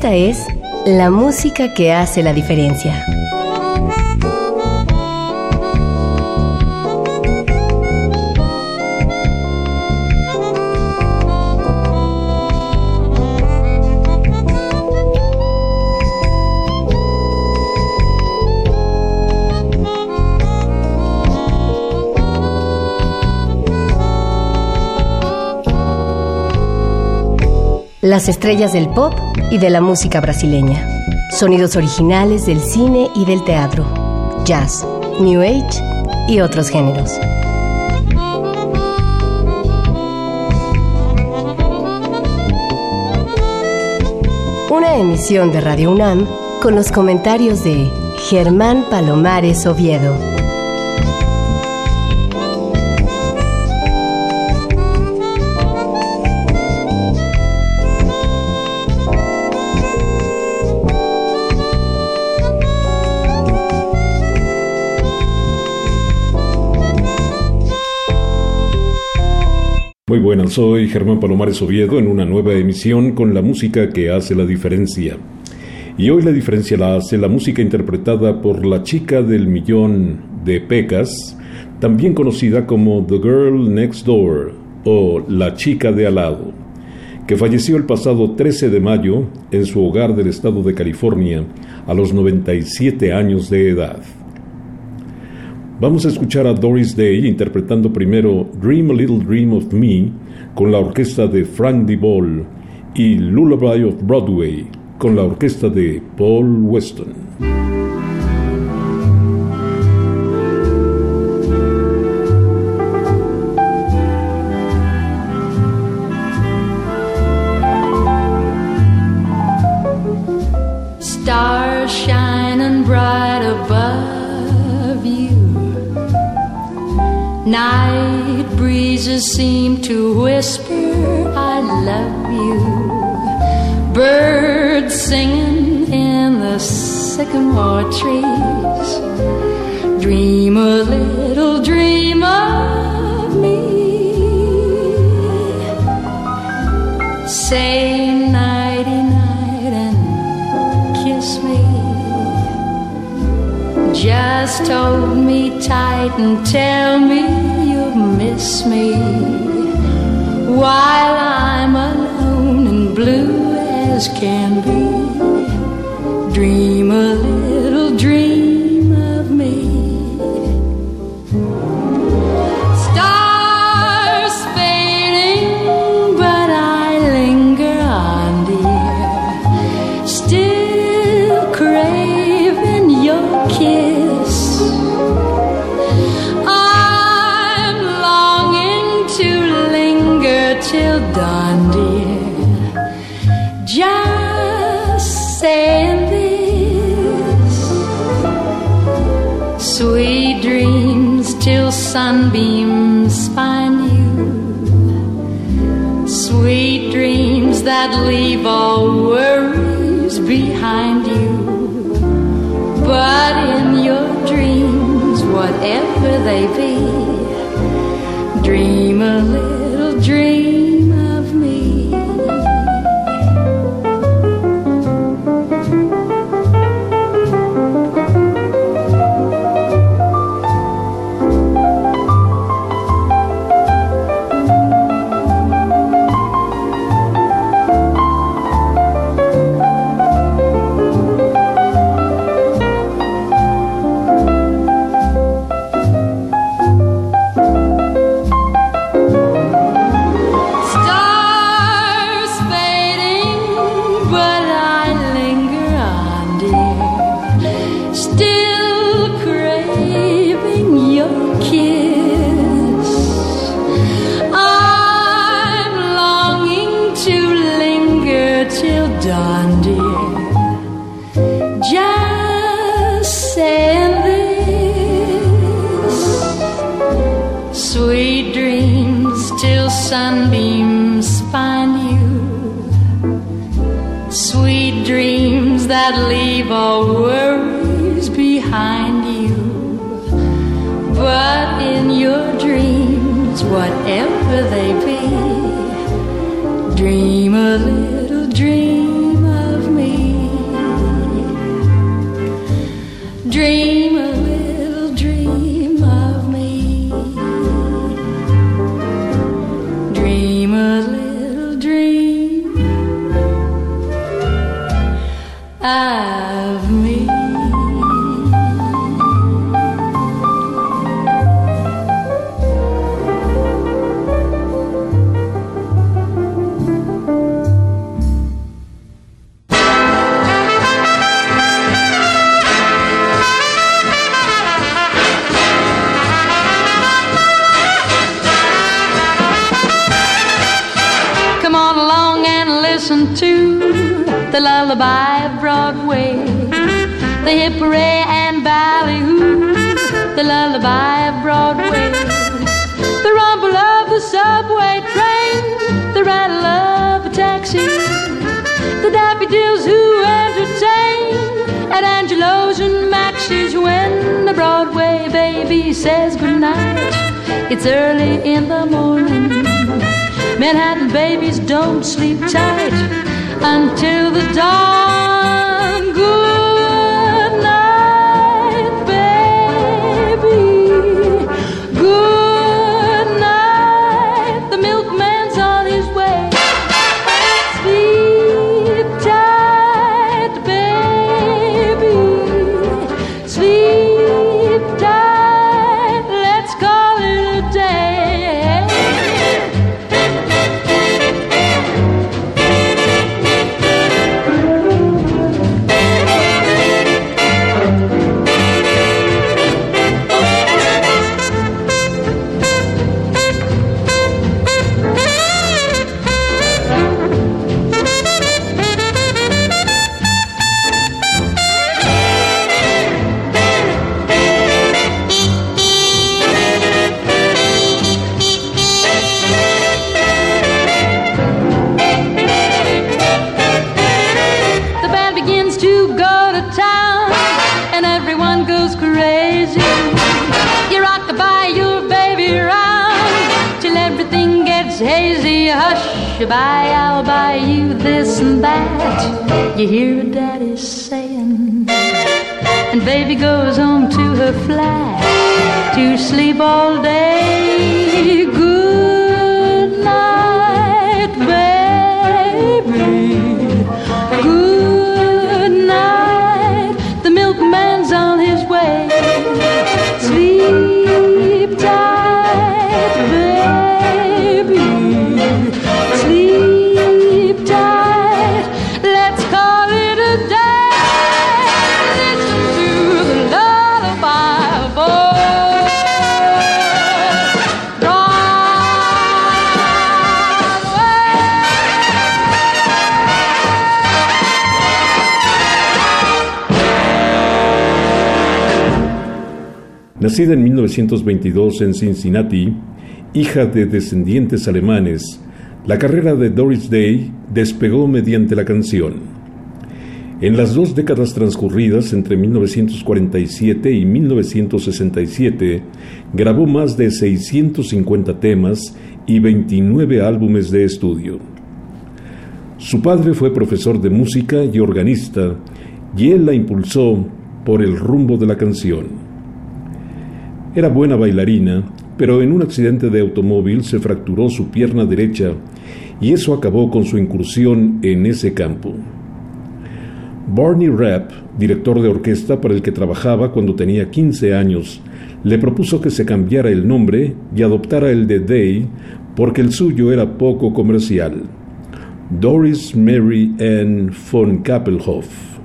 Esta es la música que hace la diferencia. Las estrellas del pop y de la música brasileña. Sonidos originales del cine y del teatro. Jazz, New Age y otros géneros. Una emisión de Radio UNAM con los comentarios de Germán Palomares Oviedo. Muy buenas, soy Germán Palomares Oviedo en una nueva emisión con la música que hace la diferencia. Y hoy la diferencia la hace la música interpretada por la chica del millón de pecas, también conocida como The Girl Next Door o La chica de al lado, que falleció el pasado 13 de mayo en su hogar del estado de California a los 97 años de edad. Vamos a escuchar a Doris Day interpretando primero Dream a Little Dream of Me con la orquesta de Frank DeVol y Lullaby of Broadway con la orquesta de Paul Weston. Stars shining bright above you. Night breezes seem to whisper, I love you. Birds singing in the sycamore trees. Dream a little dream of me. Say nighty-night and kiss me. Just hold me tight and tell me you'll miss me while I'm alone and blue as can be. Dream a little dream of me. Stars fading, but I linger on, dear. Still craving your kiss. I'm longing to linger till dawn, dear. Just saying this. Sweet dreams till sunbeams find you. Sweet dreams that leave all worries behind you. But in your dreams, whatever they be, dream a little dream of me. Sunbeams find you. Sweet dreams that leave all worries behind you. But in your dreams, whatever they be, dream a little dream of me. dream a little dream of me. Dream a little dream of me. To the lullaby of Broadway, the hip hooray and ballyhoo, the lullaby of Broadway, the rumble of the subway train, the rattle of a taxi, the daffodils who entertain at Angelo's and Max's when the Broadway baby says goodnight. It's early in the morning. Manhattan babies don't sleep tight until the dawn. Good night, baby. Good night. The milkman's on his way. Sleep tight, baby. Sleep tight. Let's call it a day. Goodbye, I'll buy you this and that, you hear Daddy saying. And baby goes home to her flat to sleep all day. Good night, baby. Good night. The milkman's on his way. Sleep tight, baby. Sleep tight, let's call it a day. Listen to the lullaby of old Broadway. Nacida en 1922 en Cincinnati, hija de descendientes alemanes, la carrera de Doris Day despegó mediante la canción. En las 2 décadas transcurridas entre 1947 y 1967, grabó más de 650 temas y 29 álbumes de estudio. Su padre fue profesor de música y organista, y él la impulsó por el rumbo de la canción. Era buena bailarina, pero en un accidente de automóvil se fracturó su pierna derecha y eso acabó con su incursión en ese campo. Barney Rapp, director de orquesta para el que trabajaba cuando tenía 15 años, le propuso que se cambiara el nombre y adoptara el de Day porque el suyo era poco comercial: Doris Mary Ann von Kappelhoff.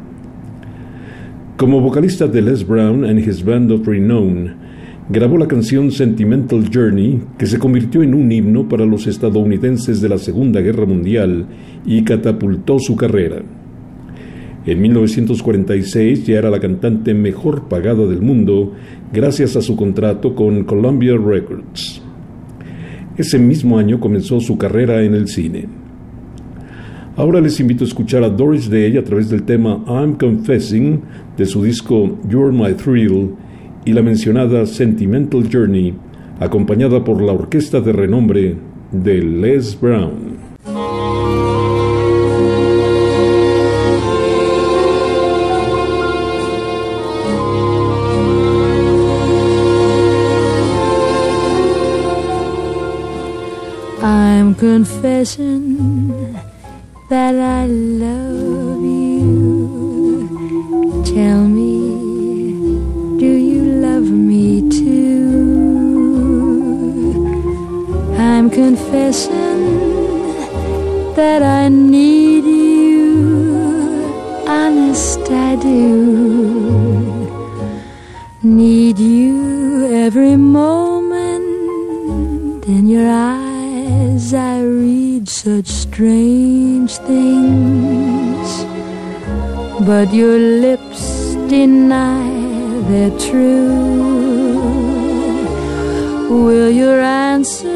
Como vocalista de Les Brown and His Band of Renown, grabó la canción Sentimental Journey, que se convirtió en un himno para los estadounidenses de la Segunda Guerra Mundial y catapultó su carrera. En 1946 ya era la cantante mejor pagada del mundo gracias a su contrato con Columbia Records. Ese mismo año comenzó su carrera en el cine. Ahora les invito a escuchar a Doris Day a través del tema I'm Confessing de su disco You're My Thrill y la mencionada Sentimental Journey, acompañada por la orquesta de renombre de Les Brown. confessing that I love you. Tell me, do you love me too? I'm confessing that I need you. Honest, I do. Need you every moment. In your eyes I read such strange things, but your lips deny they're true. Will your answer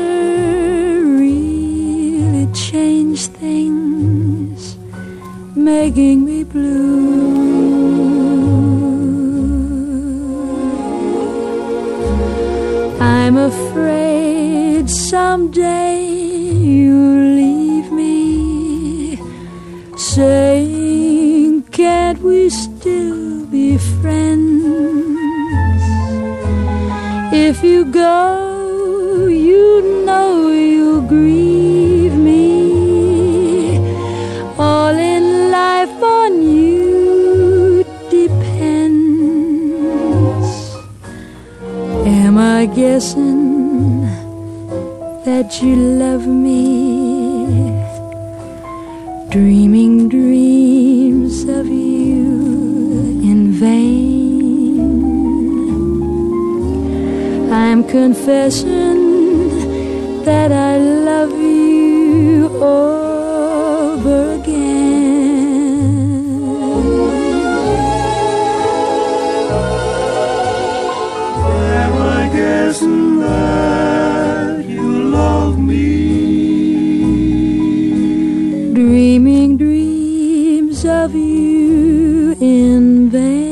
really change things, making me blue? I'm afraid someday you'll leave me, saying, can't we still be friends? If you go, you know you'll grieve me. All in life on you depends. Am I guessing that you love me, dreaming dreams of you in vain? I'm confessing that I love you over again. Am I guessing that you love me? Dreaming dreams of you in vain.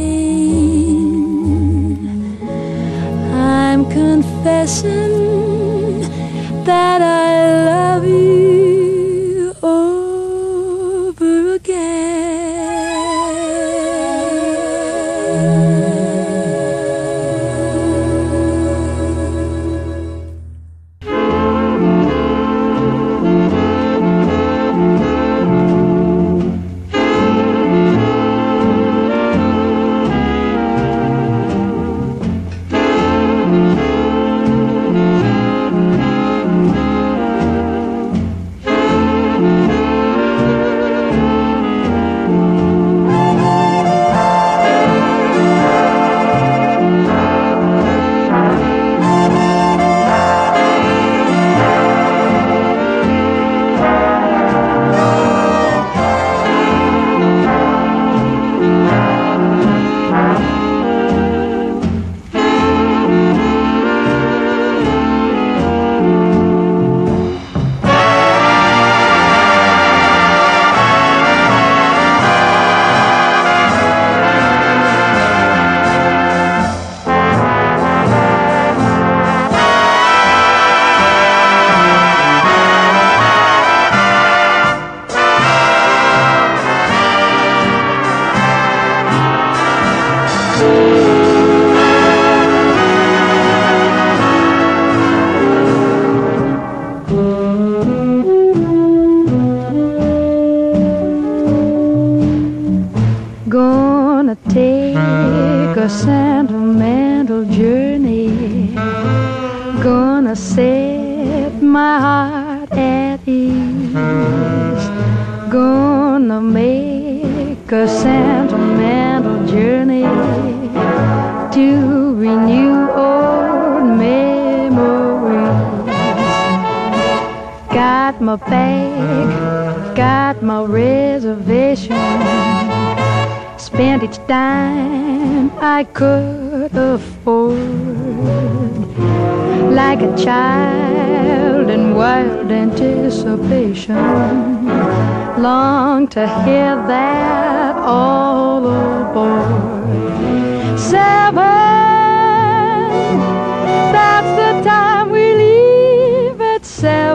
I'm confessing that I love you over again. Gonna take a sentimental journey, gonna set my heart at ease, gonna make a sentimental journey to renew old memories. Got my bag, got my reservation, spent each dime I could afford, like a child in wild anticipation, long to hear that all aboard. 7, that's the time we leave at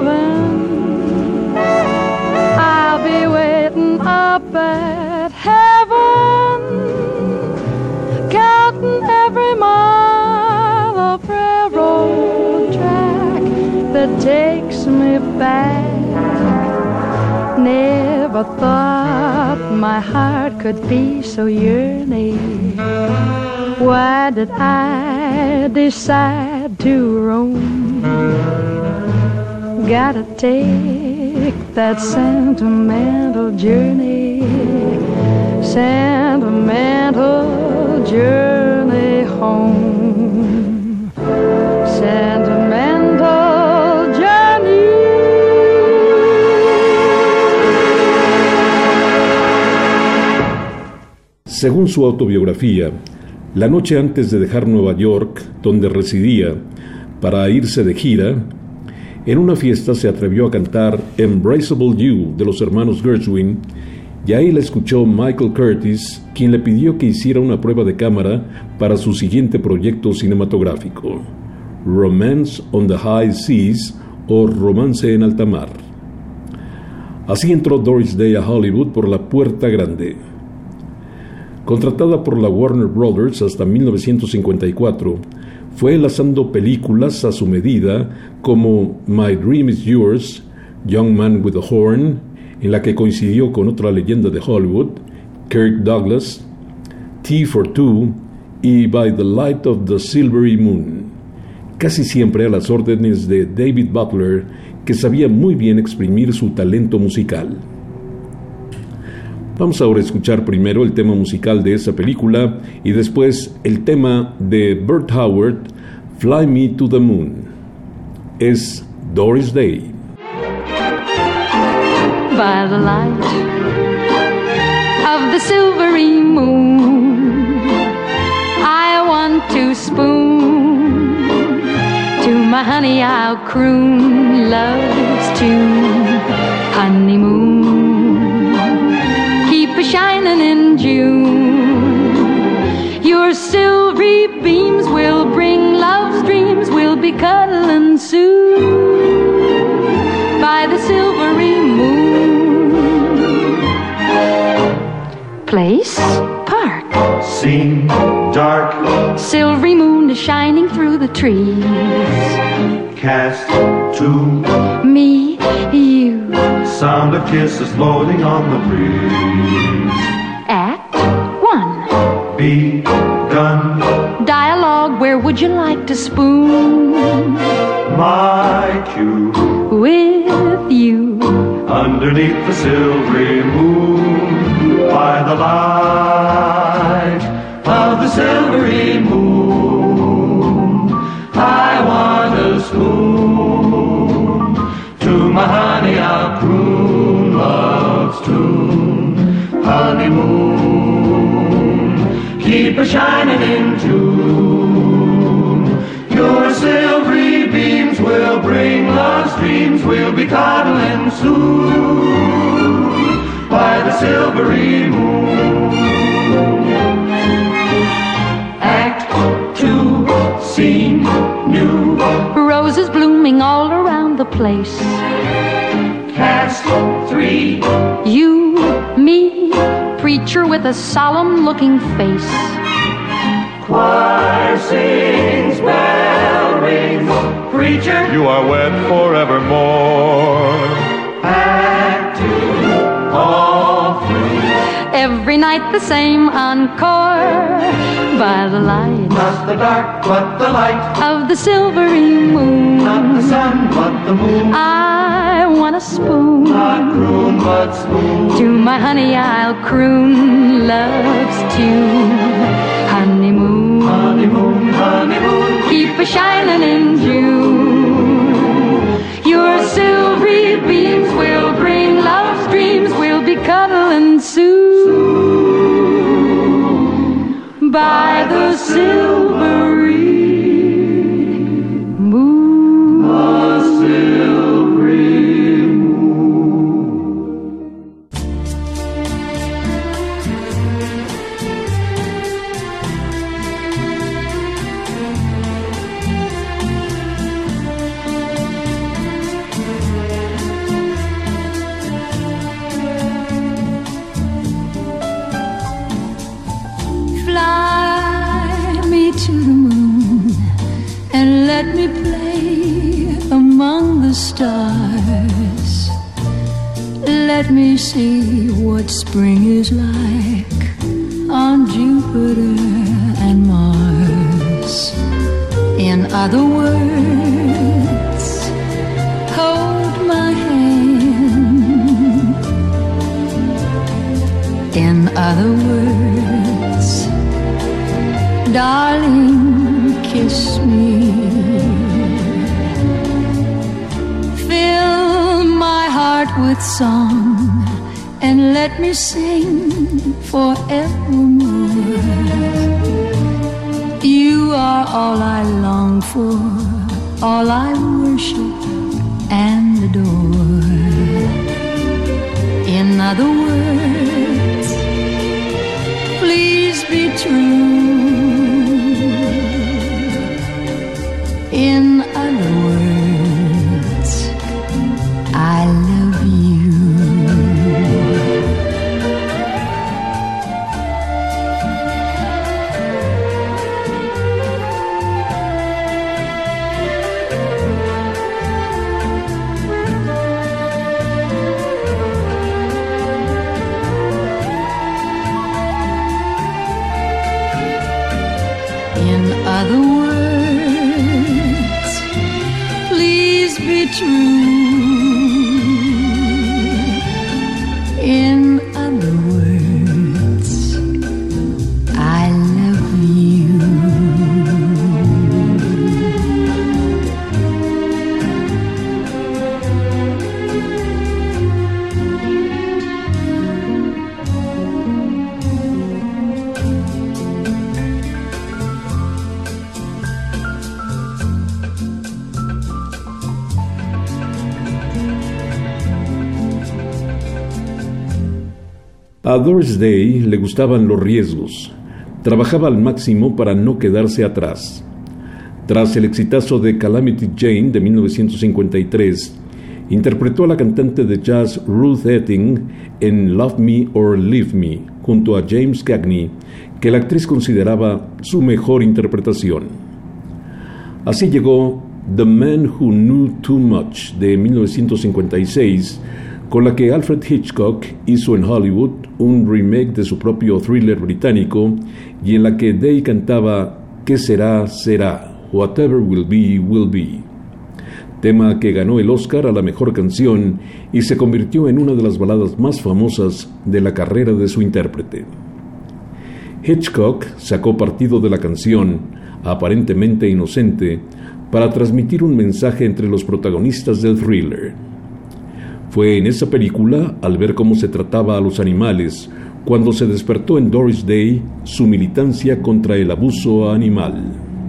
7. I'll be waiting up at heaven, counting every mile of railroad track that takes me back. Never thought my heart could be so yearning. Why did I decide to roam? Gotta take that sentimental journey, sentimental journey home, sentimental journey. Según su autobiografía, la noche antes de dejar Nueva York, donde residía, para irse de gira, en una fiesta se atrevió a cantar Embraceable You de los hermanos Gershwin, y ahí la escuchó Michael Curtiz, quien le pidió que hiciera una prueba de cámara para su siguiente proyecto cinematográfico, Romance on the High Seas o Romance en Alta Mar. Así entró Doris Day a Hollywood por la puerta grande. Contratada por la Warner Brothers hasta 1954, fue enlazando películas a su medida como My Dream is Yours, Young Man with a Horn, en la que coincidió con otra leyenda de Hollywood, Kirk Douglas, Tea for Two y By the Light of the Silvery Moon, casi siempre a las órdenes de David Butler, que sabía muy bien exprimir su talento musical. Vamos ahora a escuchar primero el tema musical de esa película y después el tema de Bert Howard, Fly Me to the Moon. Es Doris Day. By the light of the silvery moon, I want to spoon to my honey, I'll croon love's tune. Honeymoon, keep a shining in June. Your silvery beams will bring love's dreams. We'll be cuddling soon by the silvery moon. Place, park. Scene, dark. Silvery moon is shining through the trees. Cast, two. Me, you. Sound of kisses floating on the breeze. Act one. Begun. Dialogue, where would you like to spoon? My cue. With you. Underneath the silvery moon. By the light of the silvery moon. I want a spoon. To my honey I'll croon love's tune. Honeymoon, keep a shining in June. Your silvery beams will bring love's dreams. We'll be cuddling soon by the silvery moon. Act two, scene new. Roses blooming all around the place. Cast three. You, me, preacher with a solemn looking face. Choir sings, bell rings. Preacher, You are wed forevermore. act two, all three. Every night the same encore by the light Not the dark, but the light. of the silvery moon. Not the sun, but the moon. I want a spoon. Not croon, but spoon. To my honey I'll croon love's tune. Honeymoon, Honeymoon, honeymoon. keep a shining in June. Your silvery beams will bring love's dreams. We'll be cuddling soon by the silvery moon. The silvery moon. Fly me to the moon and let me play among the stars. Let me see what spring is like on Jupiter and Mars. In other words, hold my hand. In other words, darling, kiss me. Fill my heart with song and let me sing forevermore. You are all I long for, all I worship and adore. In other words, please be true. In other words, I love you. In other words, please be true. In other words, I love you. A Doris Day le gustaban los riesgos. Trabajaba al máximo para no quedarse atrás. Tras el exitazo de Calamity Jane de 1953, interpretó a la cantante de jazz Ruth Etting en Love Me or Leave Me, junto a James Cagney, que la actriz consideraba su mejor interpretación. Así llegó The Man Who Knew Too Much de 1956, con la que Alfred Hitchcock hizo en Hollywood un remake de su propio thriller británico y en la que Day cantaba ¿Qué será, será? Whatever will be, will be. Tema que ganó el Oscar a la mejor canción y se convirtió en una de las baladas más famosas de la carrera de su intérprete. Hitchcock sacó partido de la canción, aparentemente inocente, para transmitir un mensaje entre los protagonistas del thriller. Fue en esa película, al ver cómo se trataba a los animales, cuando se despertó en Doris Day su militancia contra el abuso animal.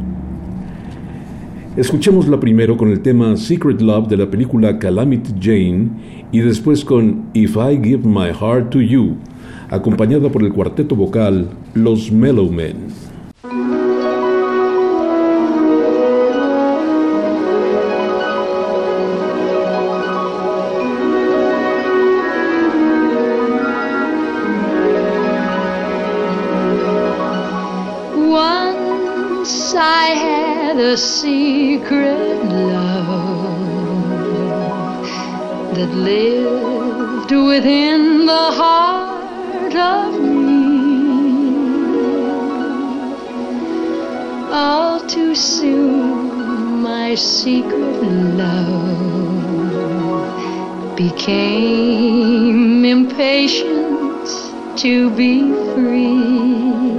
Escuchémosla primero con el tema Secret Love de la película Calamity Jane y después con If I Give My Heart to You, acompañada por el cuarteto vocal Los Mellow Men. I had a secret love that lived within the heart of me. All too soon my secret love became impatient to be free.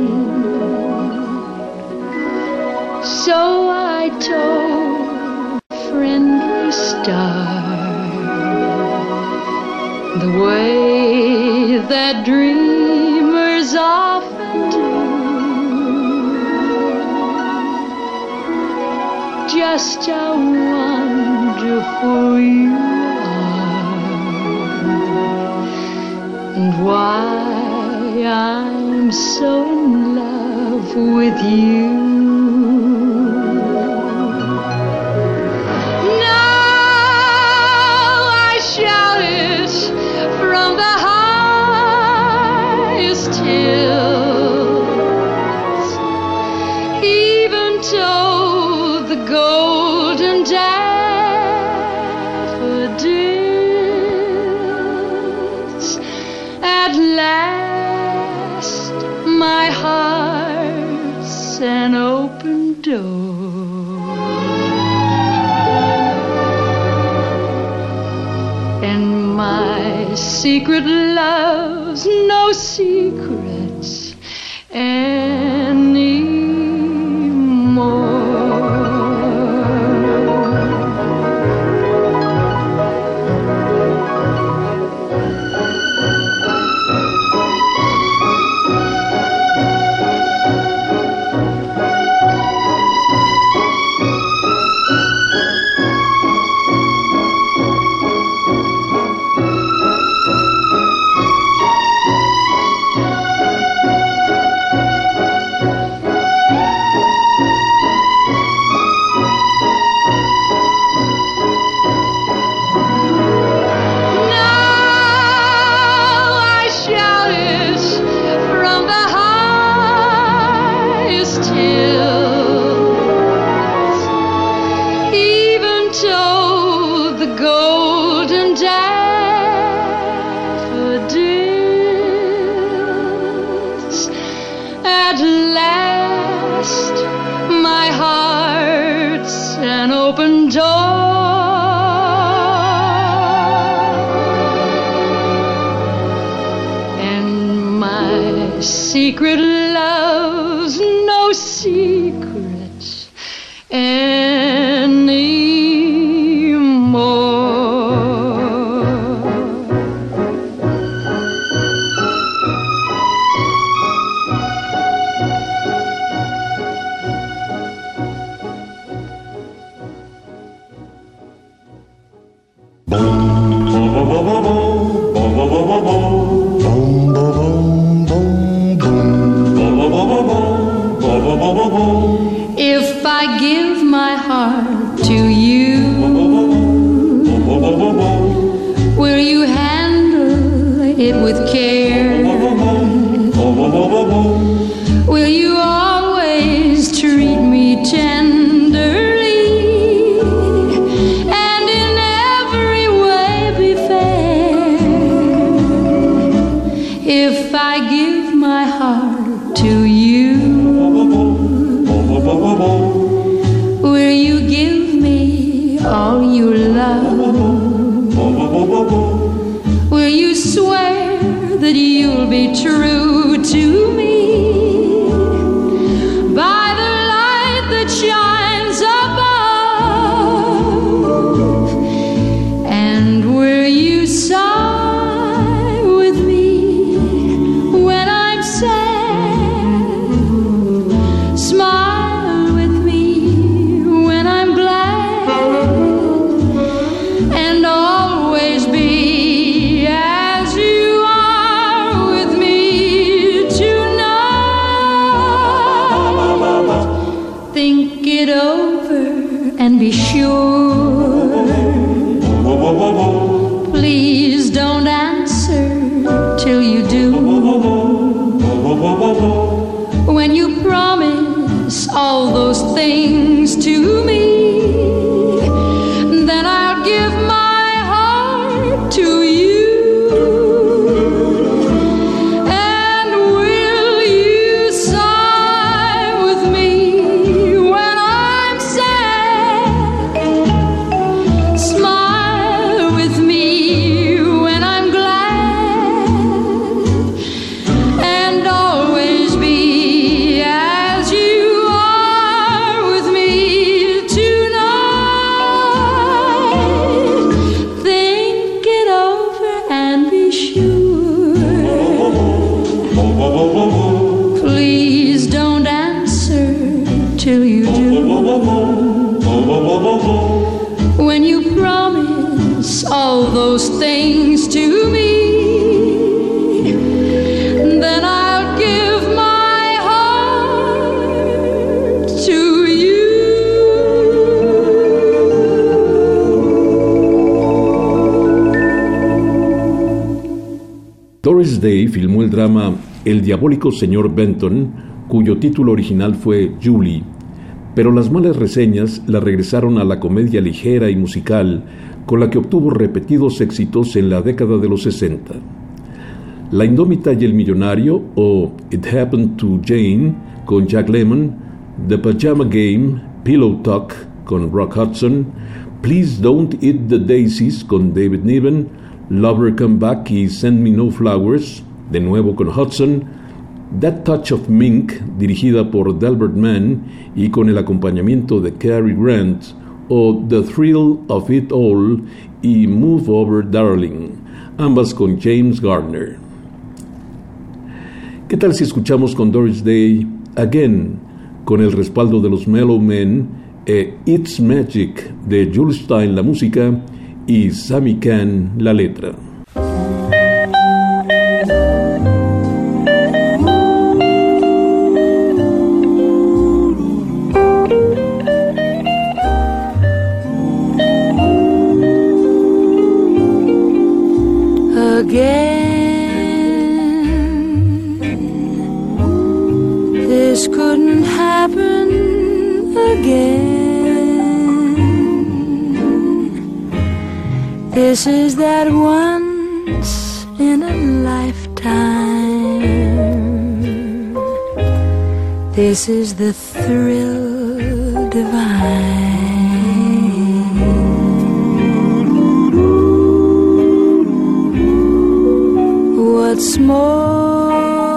So I told a friendly star the way that dreamers often do. Just how wonderful you are, and why I'm so in love with you. open door. And my secret love's no secrets anymore. Secret love's no secrets anymore. If I give my heart to you, will you handle it with care? Will you always treat me tenderly and in every way be fair? If I give my heart to you, will you give me all you love? Will you swear that you'll be true to me by the light that shines above? And will you sigh with me when I'm sad? Smile with me when I'm glad, and always be as you are with me tonight. Think it over and be sure. Please don't answer till you do. When you promise all those things to me, then I'll give my heart to you. And will you sigh with me when I'm sad? Smile with me when I'm glad, and always be as you are with me tonight. Think it over and be sure. Please don't answer till you do. When you promise all those things to me, then I'll give my heart to you. Doris Day filmó el drama El diabólico señor Benton, cuyo título original fue Julie, pero las malas reseñas la regresaron a la comedia ligera y musical con la que obtuvo repetidos éxitos en la década de los 60. La indómita y el millonario, o It Happened to Jane, con Jack Lemmon, The Pajama Game, Pillow Talk con Rock Hudson, Please Don't Eat the Daisies con David Niven, Lover Come Back y Send Me No Flowers, de nuevo con Hudson, That Touch of Mink, dirigida por Delbert Mann y con el acompañamiento de Cary Grant, o The Thrill of It All y Move Over Darling, ambas con James Garner. ¿Qué tal si escuchamos con Doris Day Again, con el respaldo de los Mellow Men, It's Magic de Jules Stein la música y Sammy Cahn la letra? This couldn't happen again. This is that once in a lifetime. This is the thrill divine. What's more,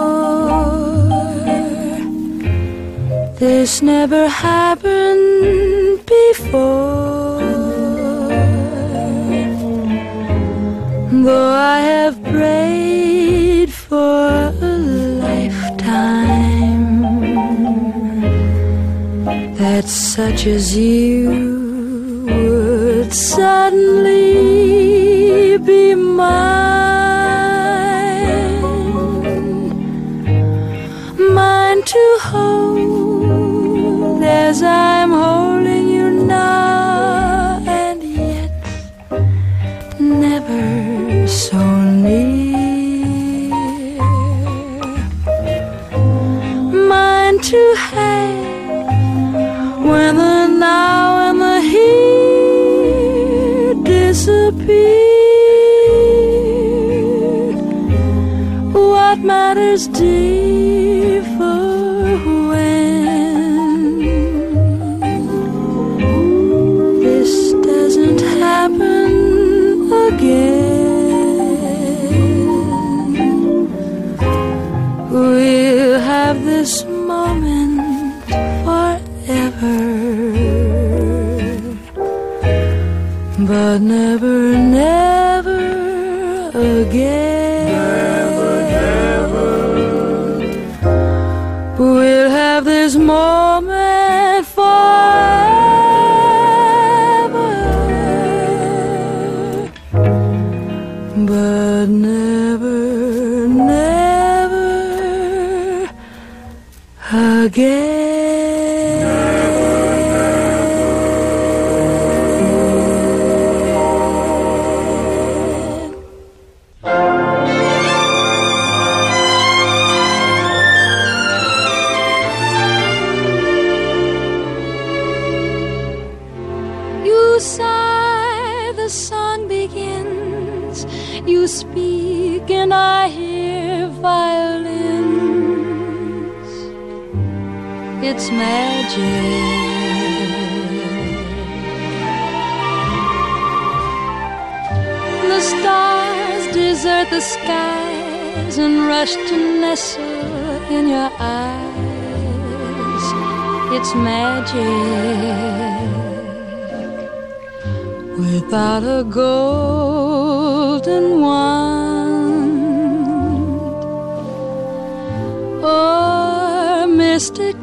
this never happened before. Though I have prayed for a lifetime that such as you would suddenly be mine. To hold as I'm holding you now, and yet never so near. Mine to have when the now and the here disappear. What matters dear for we'll have this moment forever, but never, never again. Never, never. We'll have this moment forever, but never, never again. You sigh, the song begins. You speak and I hear violins. It's magic. The stars desert the skies and rush to nestle in your eyes. It's magic. Without a golden wand or mystic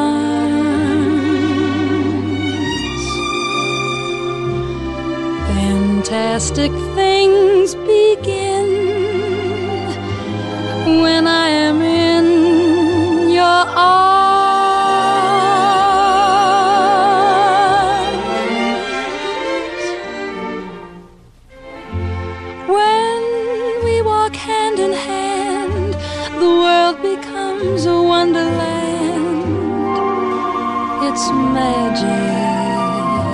charms, fantastic things begin when I am in your arms. Hand in hand, the world becomes a wonderland. It's magic.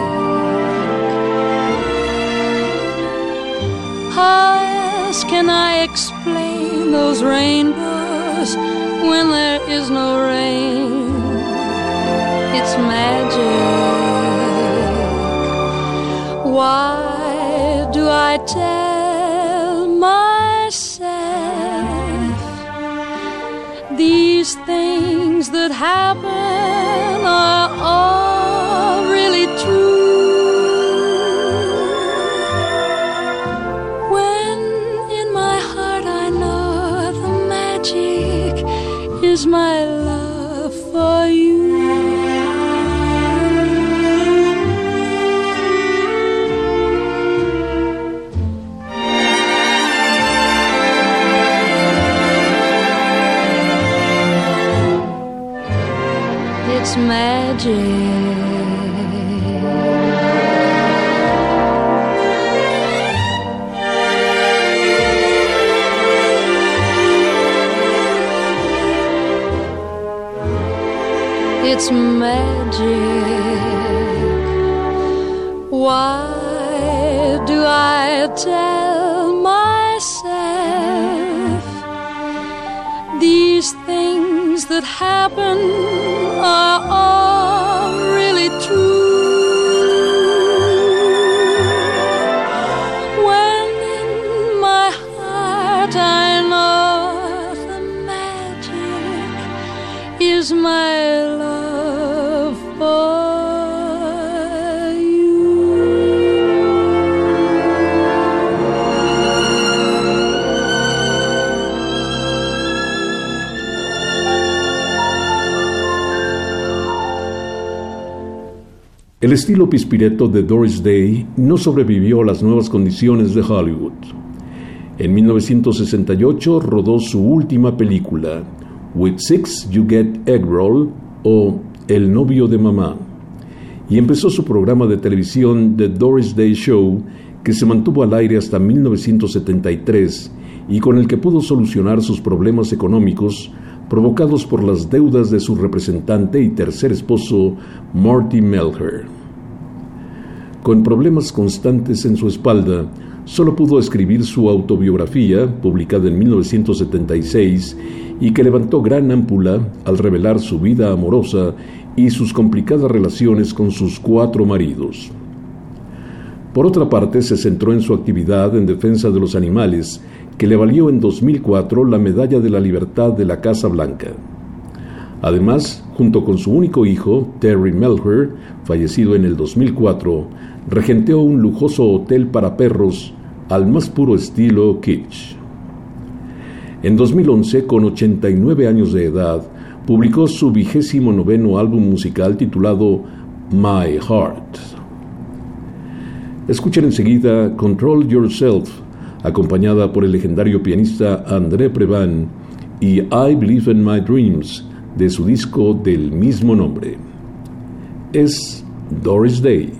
How else can I explain those rainbows when there is no rain? I tell myself these things that happen are all really true? When in my heart I know the magic is my love for you. It's magic. It's magic. Why do I tell myself these things that happen are all really true? When in my heart I know the magic is my love for you. El estilo pispireto de Doris Day no sobrevivió a las nuevas condiciones de Hollywood. En 1968 rodó su última película, With Six You Get Egg Roll, o El novio de mamá, y empezó su programa de televisión The Doris Day Show, que se mantuvo al aire hasta 1973 y con el que pudo solucionar sus problemas económicos provocados por las deudas de su representante y tercer esposo, Marty Melcher. Con problemas constantes en su espalda, solo pudo escribir su autobiografía, publicada en 1976, y que levantó gran ámpula al revelar su vida amorosa y sus complicadas relaciones con sus 4 maridos. Por otra parte, se centró en su actividad en defensa de los animales, que le valió en 2004 la Medalla de la Libertad de la Casa Blanca. Además, junto con su único hijo, Terry Melcher, fallecido en el 2004, regenteó un lujoso hotel para perros al más puro estilo kitsch. En 2011, con 89 años de edad, publicó su 29º álbum musical titulado My Heart. Escuchen enseguida Control Yourself, acompañada por el legendario pianista André Previn, y I Believe in My Dreams, de su disco del mismo nombre. Es Doris Day.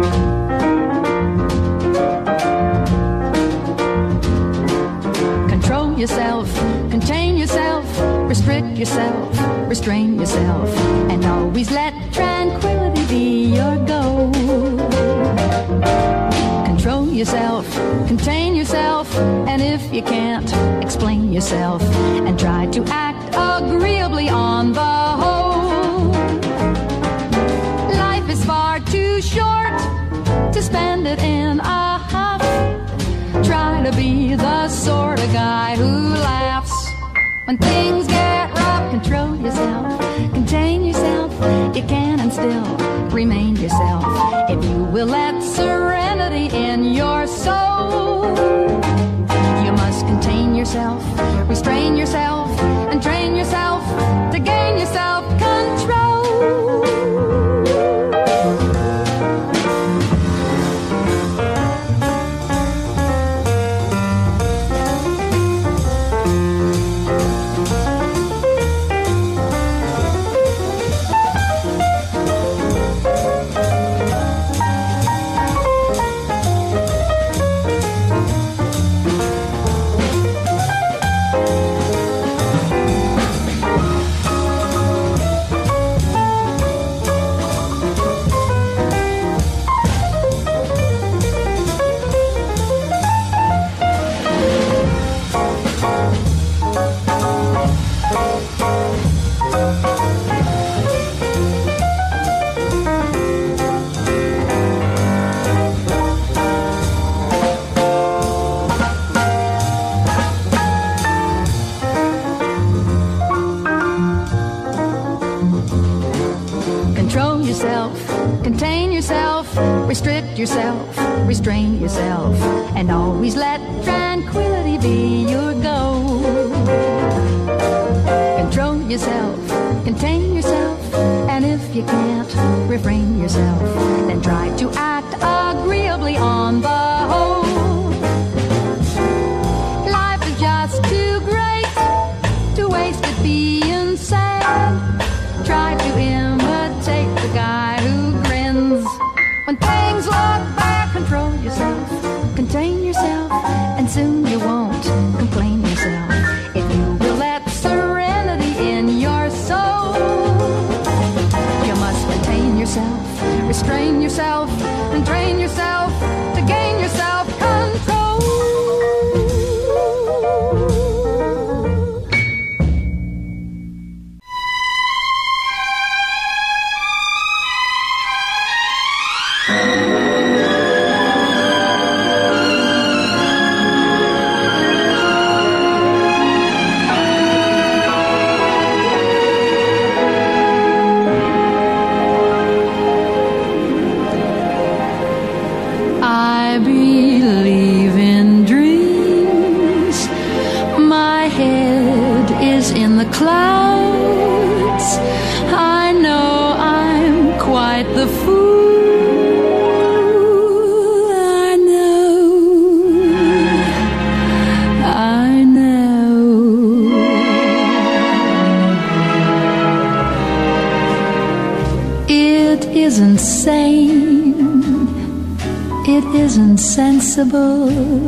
Control yourself, contain yourself, restrict yourself, restrain yourself, and always let tranquility be your goal. Control yourself, contain yourself, and if you can't, explain yourself, and try to act agreeably on the whole. Life is far too short to spend it in a huff. Try to be the sort of guy who laughs when things get rough. Control yourself, contain yourself, you can and still remain yourself if you will let serenity in your soul. You must contain yourself, restrain yourself, and train yourself to gain your self-control. Control yourself, contain yourself, restrict yourself, restrain yourself, and always let tranquility be your goal. Control yourself, contain yourself, and if you can't refrain yourself, then try to act agreeably on the whole. Life is just too great to waste it being sad. Try to imitate the guy who grins when things look bad. Control yourself, contain yourself, and soon you won't complain yourself if you will let serenity in your soul. You must contain yourself, restrain yourself, and train yourself to gain your self-control. I believe in dreams. My head is in the clouds. I know I'm quite the fool. I know. It isn't sane. It isn't sensible.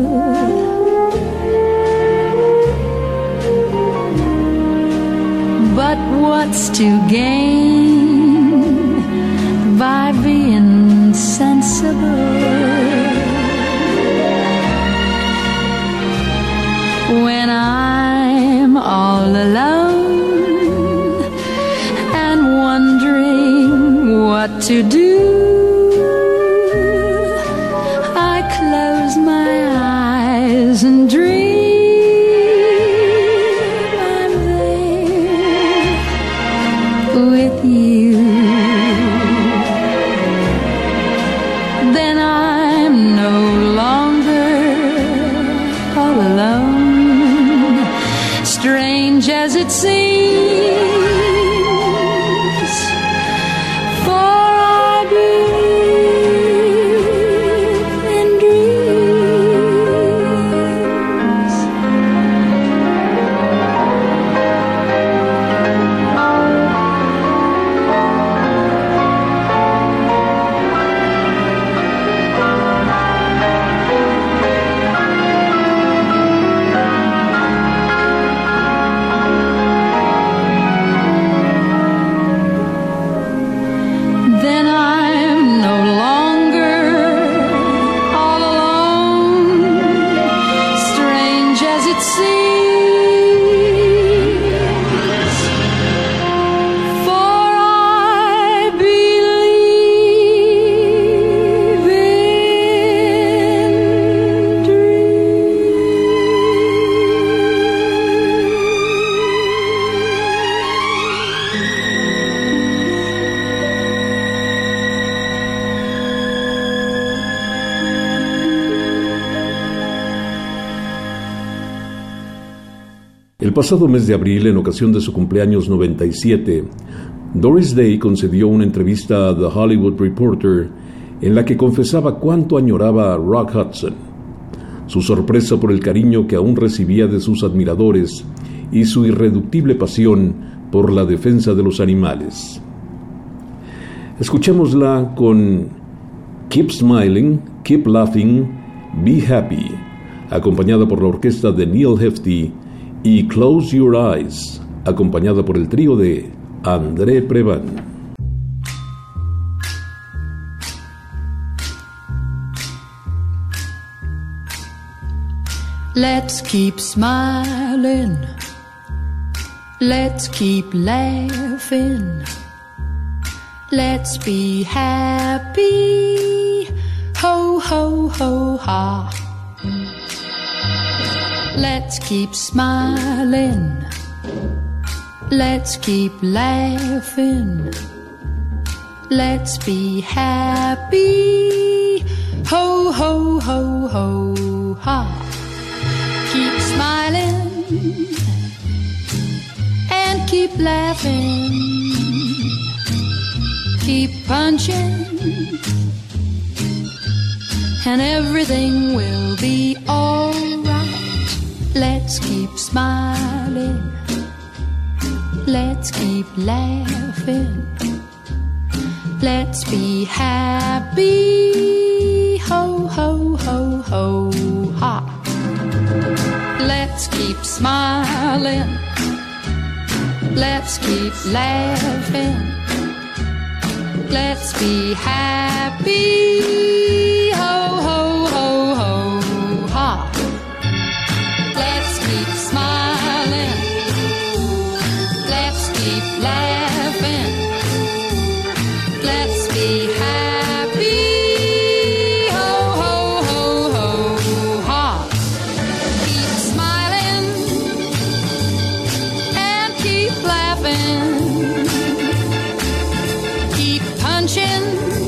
But what's to gain by being sensible? When I'm all alone and wondering what to do, close my eyes and dream I'm there with you. Then I'm no longer all alone, strange as it seems, for I believe in dreams. Then I'm no longer all alone, strange as it seems, for I believe in El pasado mes de abril, en ocasión de su cumpleaños 97, Doris Day concedió una entrevista a The Hollywood Reporter en la que confesaba cuánto añoraba a Rock Hudson, su sorpresa por el cariño que aún recibía de sus admiradores y su irreductible pasión por la defensa de los animales. Escuchémosla con Keep Smiling, Keep Laughing, Be Happy, acompañada por la orquesta de Neil Hefti, y Close Your Eyes, acompañada por el trío de André Previn. Let's keep smiling. Let's keep laughing. Let's be happy. Ho, ho, ho, ha. Let's keep smiling. Let's keep laughing. let's be happy. Ho, ho, ho, ho, ha. Keep smiling and keep laughing. Keep punching and everything will be alright. Let's keep smiling. Let's keep laughing. Let's be happy. Ho, ho, ho, ho, ha. Let's keep smiling. Let's keep laughing. Let's be happy. Ho, ho, ho, ho, ha. Let's keep smiling. Let's keep laughing. Let's be happy. Ho, ho, ho, ho, ha. Keep smiling and keep laughing. Keep punching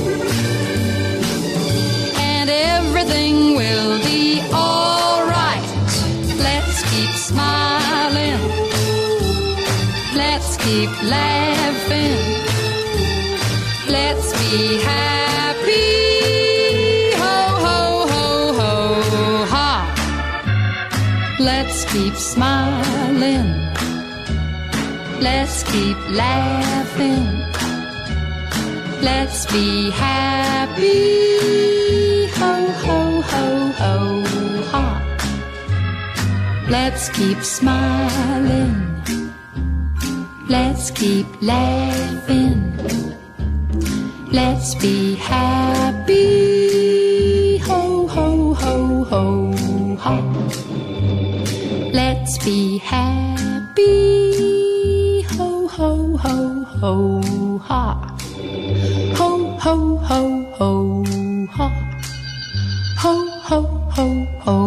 and everything will be alright. Let's keep smiling. Let's keep laughing. Let's be happy. Ho, ho, ho, ho, ha. Let's keep smiling. Let's keep laughing. Let's be happy. Ho, ho, ho, ho, ha. Let's keep smiling. Let's keep laughing. Let's be happy. Ho, ho, ho, ho, ha. Let's be happy. Ho, ho, ho, ho, ha. Ho, ho, ho, ho, ha. Ho, ho, ho, ho.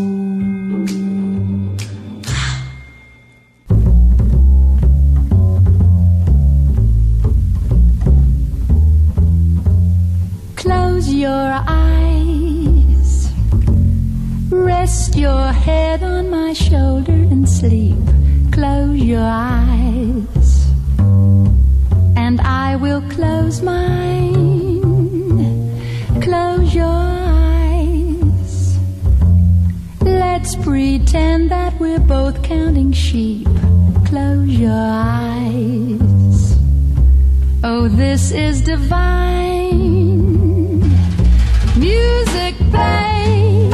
Close your eyes, rest your head on my shoulder and sleep. Close your eyes, and I will close mine. Close your eyes, let's pretend that we're both counting sheep. Close your eyes, oh, this is divine. Music play,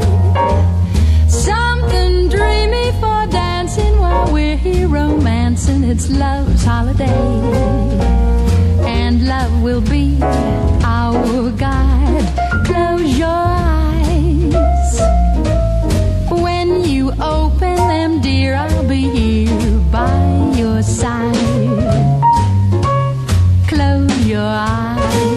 something dreamy for dancing while we're here romancing. It's love's holiday, and love will be our guide. Close your eyes, when you open them, dear, I'll be here by your side. Close your eyes.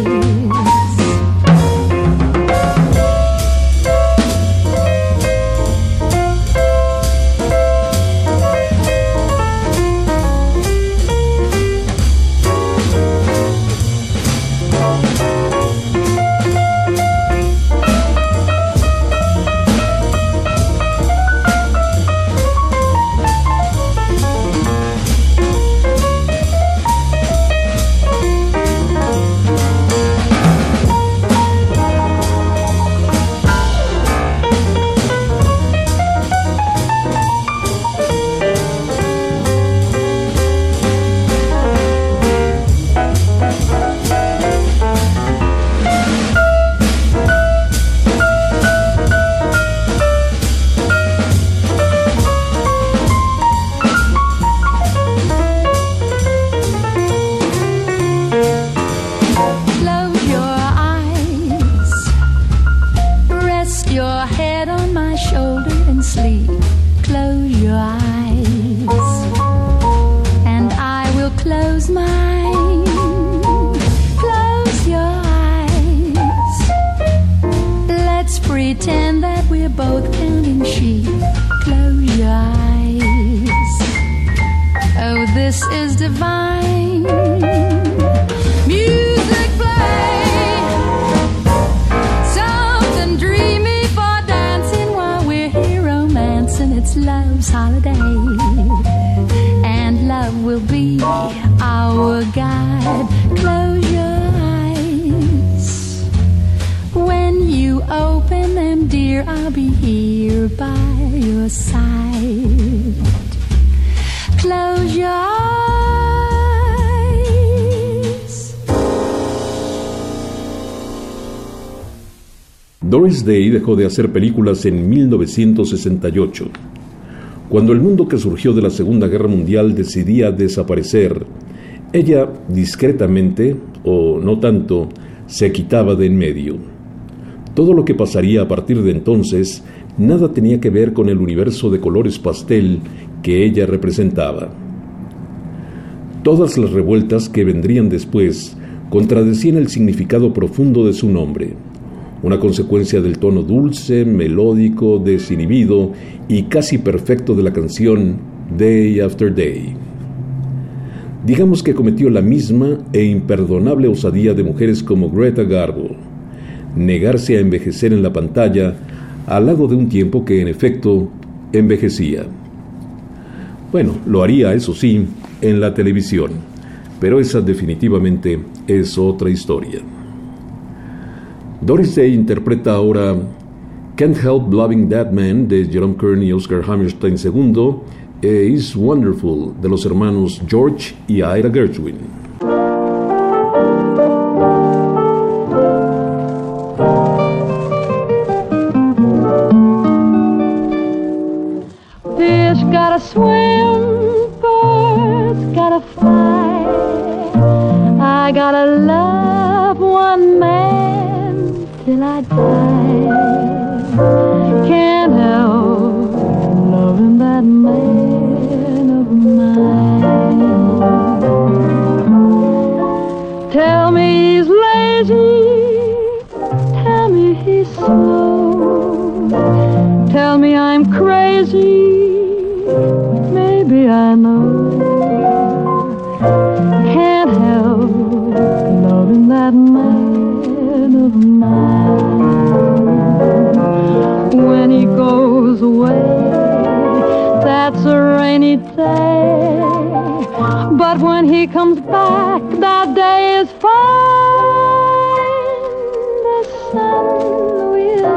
Pretend that we're both counting sheep. Close your eyes. Oh, this is divine. Music. I'll be here by your side. Close your eyes. Doris Day dejó de hacer películas en 1968. Cuando el mundo que surgió de la Segunda Guerra Mundial decidía desaparecer, ella discretamente, o no tanto, se quitaba de en medio. Todo lo que pasaría a partir de entonces nada tenía que ver con el universo de colores pastel que ella representaba. Todas las revueltas que vendrían después contradecían el significado profundo de su nombre, una consecuencia del tono dulce, melódico, desinhibido y casi perfecto de la canción Day After Day. Digamos que cometió la misma e imperdonable osadía de mujeres como Greta Garbo, negarse a envejecer en la pantalla al lado de un tiempo que en efecto envejecía. Bueno, lo haría, eso sí, en la televisión, pero esa definitivamente es otra historia. Doris Day interpreta ahora Can't Help Loving That Man de Jerome Kern y Oscar Hammerstein II e Is Wonderful de los hermanos George y Ira Gershwin. Fish gotta swim, birds gotta fly. I gotta love one man till I die. Can't help loving that man of mine. Tell me he's lazy, tell me he's slow, tell me I'm crazy, maybe I know. Can't help loving that man of mine. When he goes away, that's a rainy day, but when he comes back, that day is fine. The sun will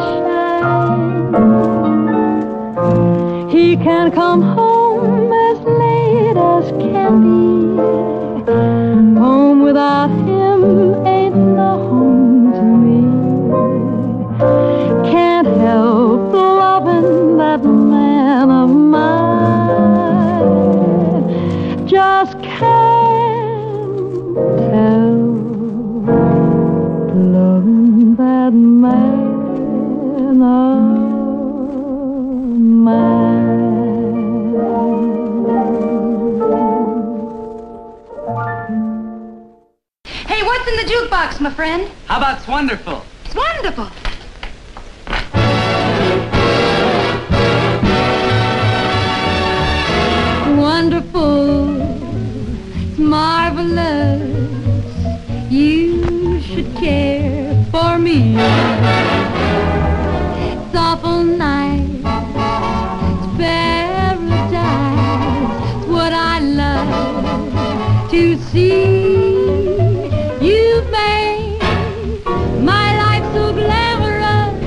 shine. He can come home as late as can be. Home without him ain't no home to me. Can't help loving that man of mine. Just can't help loving that man of mine. Hey, what's in the jukebox, my friend? How about It's Wonderful? It's wonderful. Wonderful, it's marvelous. You should care for me. It's awful nice, it's paradise. It's what I love to see. You've made my life so glamorous.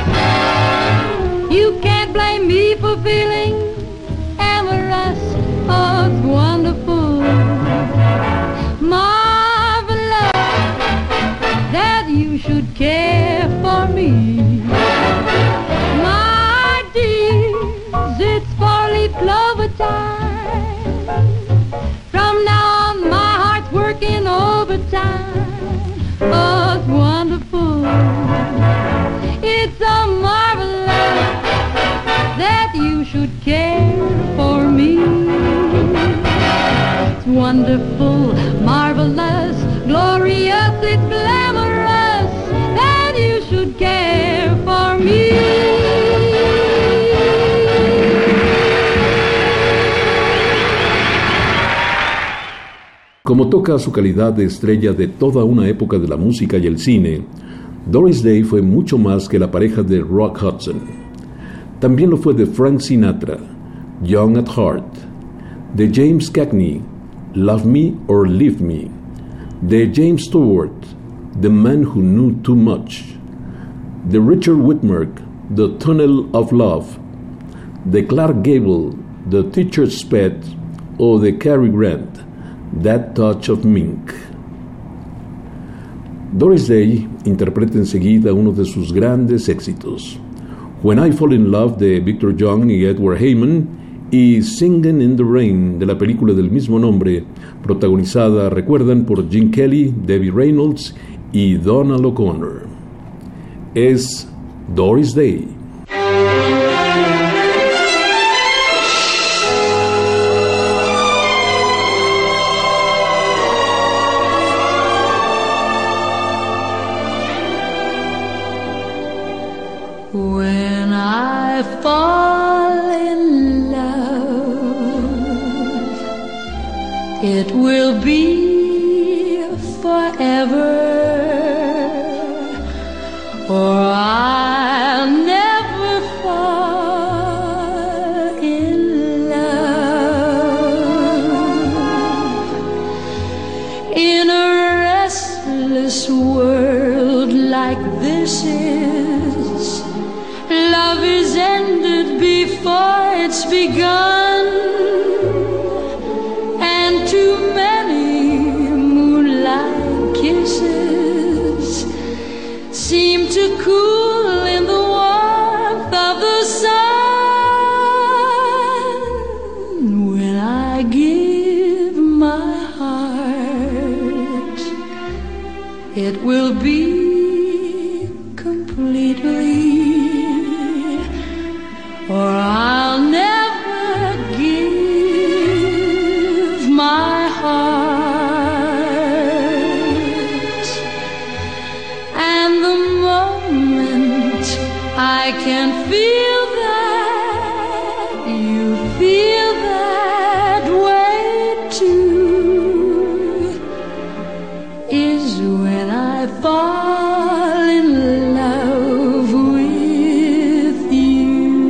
You can't blame me for feeling amorous. Oh, it's wonderful, marvelous that you should care for me. My dears, it's four-leaf clover time. From now on, my heart's working overtime. Oh, it's wonderful, it's so marvelous that you should care for me. It's wonderful, marvelous, glorious, it's glamorous that you should care for me. Como toca su calidad de estrella de toda una época de la música y el cine, Doris Day fue mucho más que la pareja de Rock Hudson. También lo fue de Frank Sinatra, Young at Heart, de James Cagney, Love Me or Leave Me, de James Stewart, The Man Who Knew Too Much, de Richard Whitmark, The Tunnel of Love, de Clark Gable, The Teacher's Pet, o de Cary Grant, That Touch of Mink. Doris Day interpreta enseguida uno de sus grandes éxitos, When I Fall in Love, de Victor Young y Edward Heyman, y Singin' in the Rain, de la película del mismo nombre, protagonizada, recuerdan, por Gene Kelly, Debbie Reynolds y Donald O'Connor. Es Doris Day. When I fall in love, it will be forever, or I'll never fall in love. In a restless world like this is, love is ended before it's begun, and too many moonlight kisses seem to cool in the warmth of the sun. When I give my heart, it will be completely, or I'll never give my heart. And the moment I can feel that you feel that way too is when I fall in love with you.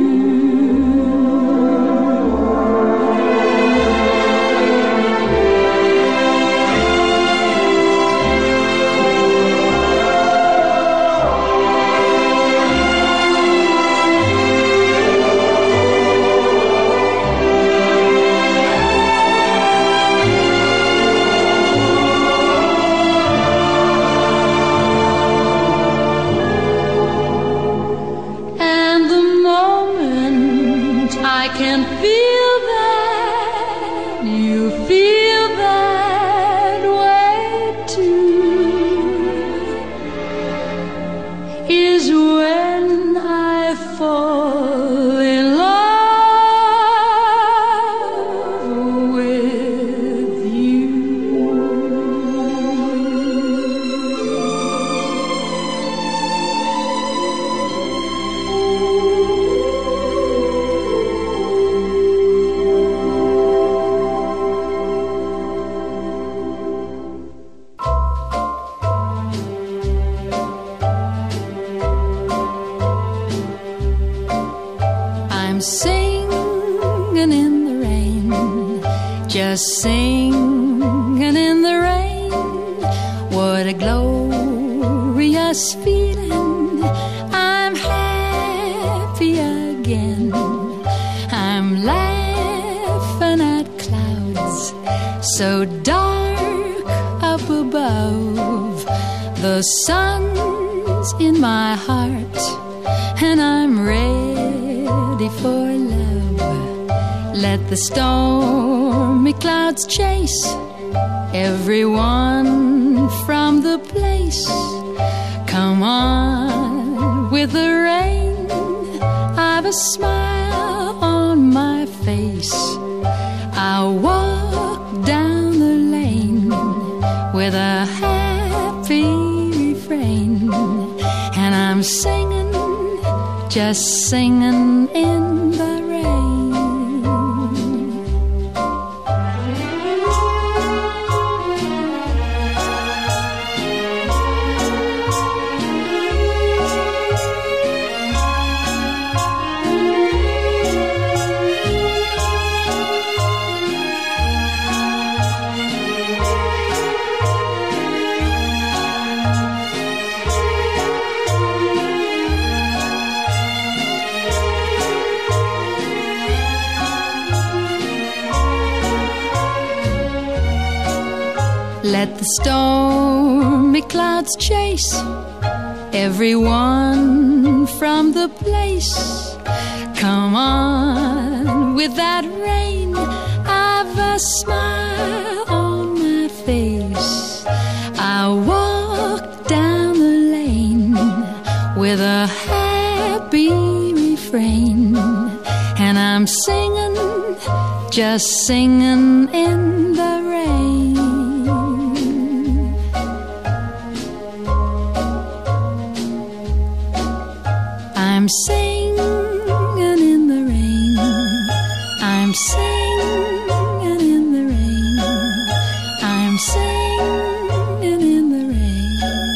And the moment I can feel that you feel that way too is when I fall in love with you. I'm singing in the rain, just singing in the rain. What a glorious feeling. I'm happy again. I'm laughing at clouds so dark up above. The sun's in my heart, and I'm ready for love. Let the stormy clouds chase everyone from the place. Come on with the rain, I've a smile on my face. I'll walk down the lane with a happy refrain, and I'm singing, just singing in the rain. stormy clouds chase everyone from the place. Come on with that rain, I've a smile on my face. I walk down the lane with a happy refrain, and I'm singing, just singing in the rain. I'm singing in the rain. I'm singing in the rain. I'm singing in the rain.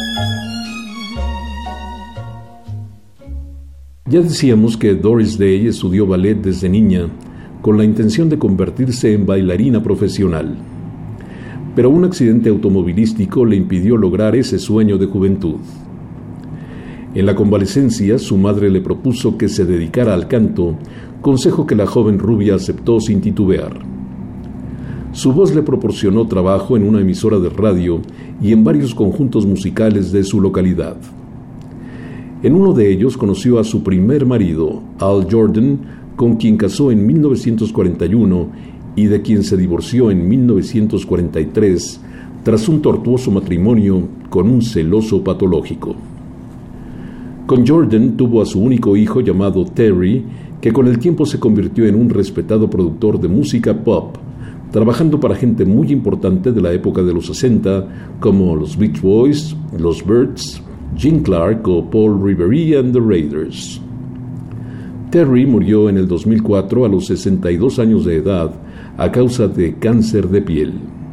Ya decíamos que Doris Day estudió ballet desde niña con la intención de convertirse en bailarina profesional. Pero un accidente automovilístico le impidió lograr ese sueño de juventud. En la convalecencia, su madre le propuso que se dedicara al canto, consejo que la joven rubia aceptó sin titubear. Su voz le proporcionó trabajo en una emisora de radio y en varios conjuntos musicales de su localidad. En uno de ellos conoció a su primer marido, Al Jordan, con quien casó en 1941 y de quien se divorció en 1943 tras un tortuoso matrimonio con un celoso patológico. Con Jordan tuvo a su único hijo llamado Terry, que con el tiempo se convirtió en un respetado productor de música pop, trabajando para gente muy importante de la época de los 60, como los Beach Boys, los Byrds, Gene Clark o Paul Revere and the Raiders. Terry murió en el 2004 a los 62 años de edad a causa de cáncer de piel.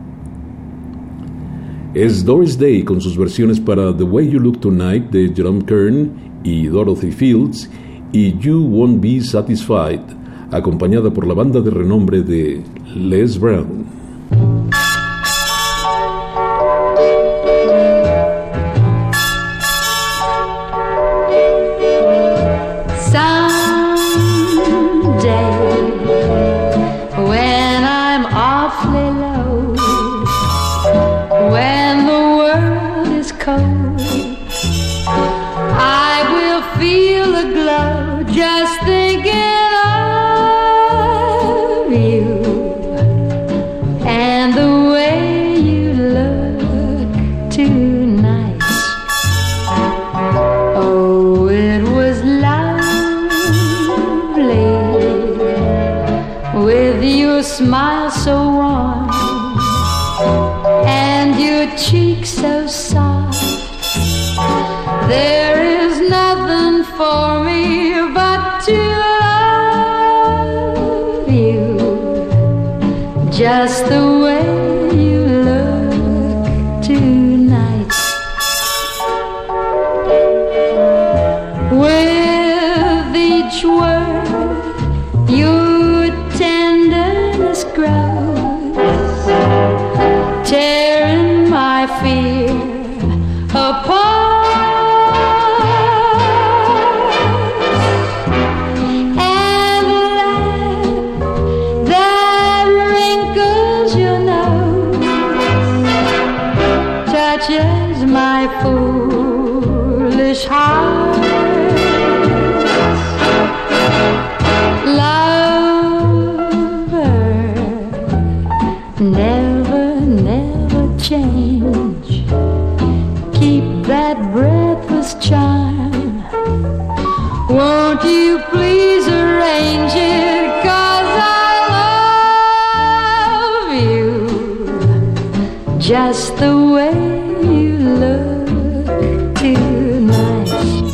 Es Doris Day con sus versiones para The Way You Look Tonight de Jerome Kern y Dorothy Fields y You Won't Be Satisfied, acompañada por la banda de renombre de Les Brown. Smile so warm and your cheek so soft. There is nothing for me but to love you just the way you look tonight. With each word your tenderness grows, tearing my fear apart. And the laugh that wrinkles your nose touches my foolish heart. Never, never change. Keep that breathless charm. Won't you please arrange it? 'Cause I love you just the way you look tonight.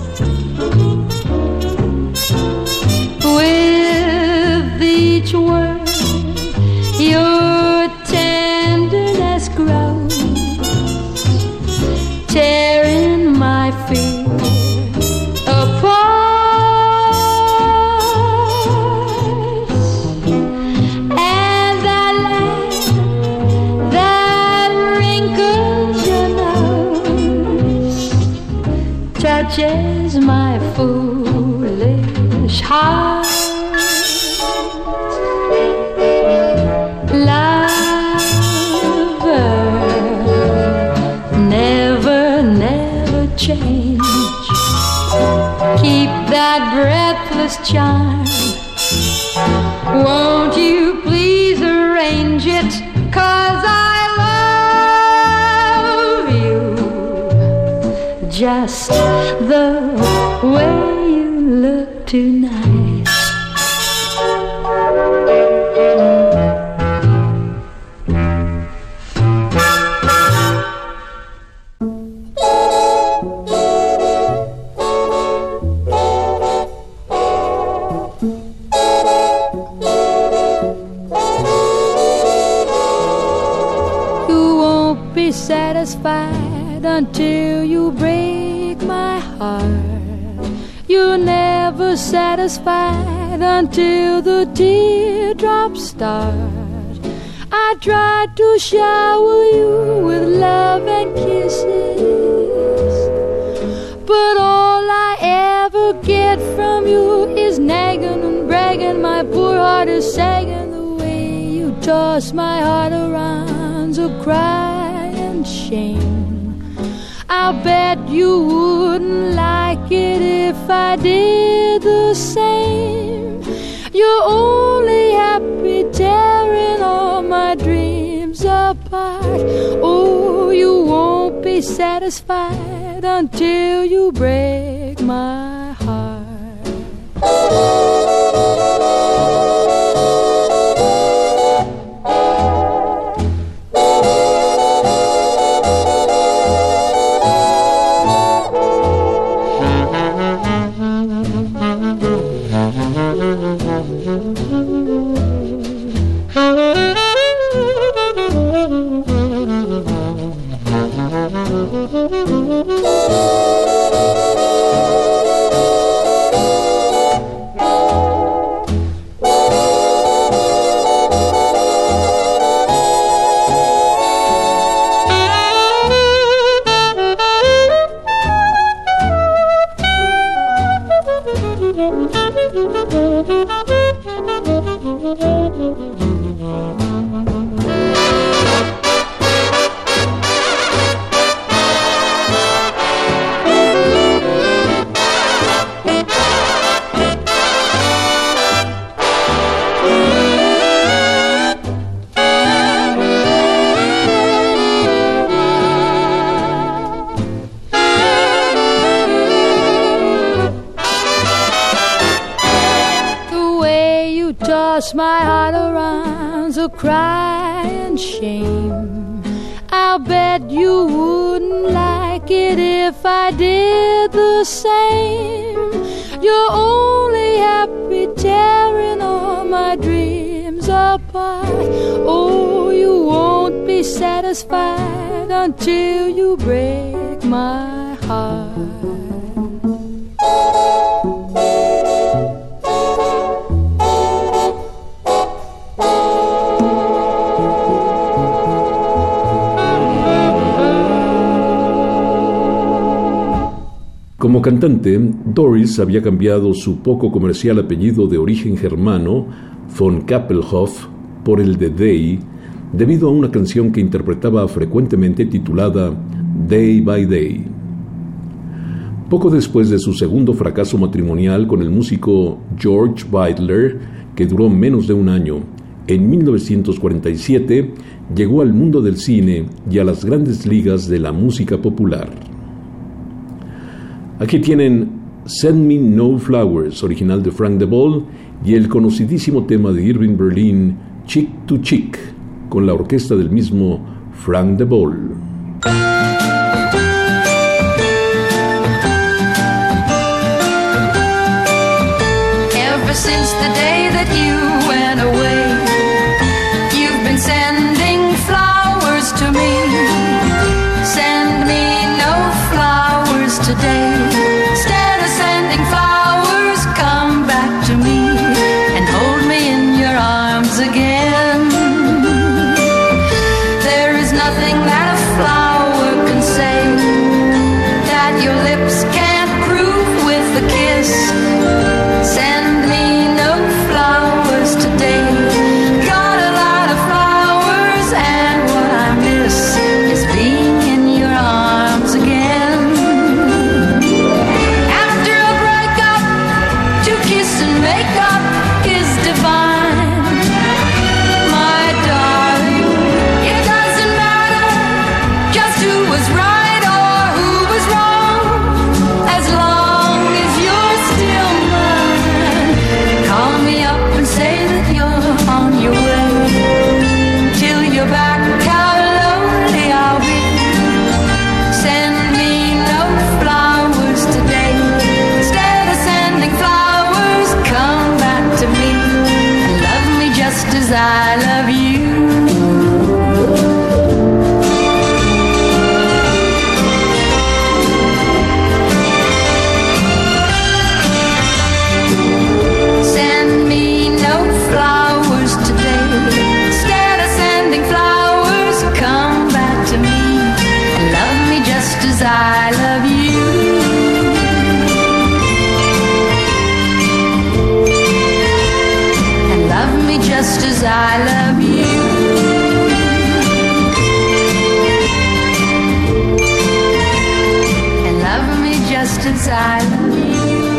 With each word your tenderness grows, tearing my fear apart. And that laugh that wrinkles your nose touches my foolish heart. Lover, change. Keep that breathless charm. Won't you please arrange it? 'Cause I love you just the way you look tonight. Satisfied until you break my heart. You're never satisfied until the teardrops start. I tried to shower you with love and kisses, but all I ever get from you is nagging and bragging. My poor heart is sagging. The way you toss my heart around, so cry shame. I'll bet you wouldn't like it if I did the same. You're only happy tearing all my dreams apart. Oh, you won't be satisfied until you break my heart. My heart around, so cry and shame. I'll bet you wouldn't like it if I did the same. You're only happy tearing all my dreams apart. Oh, you won't be satisfied until you break my heart. Como cantante, Doris había cambiado su poco comercial apellido de origen germano, von Kappelhoff, por el de Day, debido a una canción que interpretaba frecuentemente titulada Day by Day. Poco después de su segundo fracaso matrimonial con el músico George Weidler, que duró menos de un año, en 1947 llegó al mundo del cine y a las grandes ligas de la música popular. Aquí tienen Send Me No Flowers, original de Frank DeVol, y el conocidísimo tema de Irving Berlin, Chick to Chick, con la orquesta del mismo Frank DeVol. Ever since the day that you went away, you've been sending flowers to me. Send me no flowers today. Send me no flowers as I love you. And love me just as I love you. And love me just as I love you.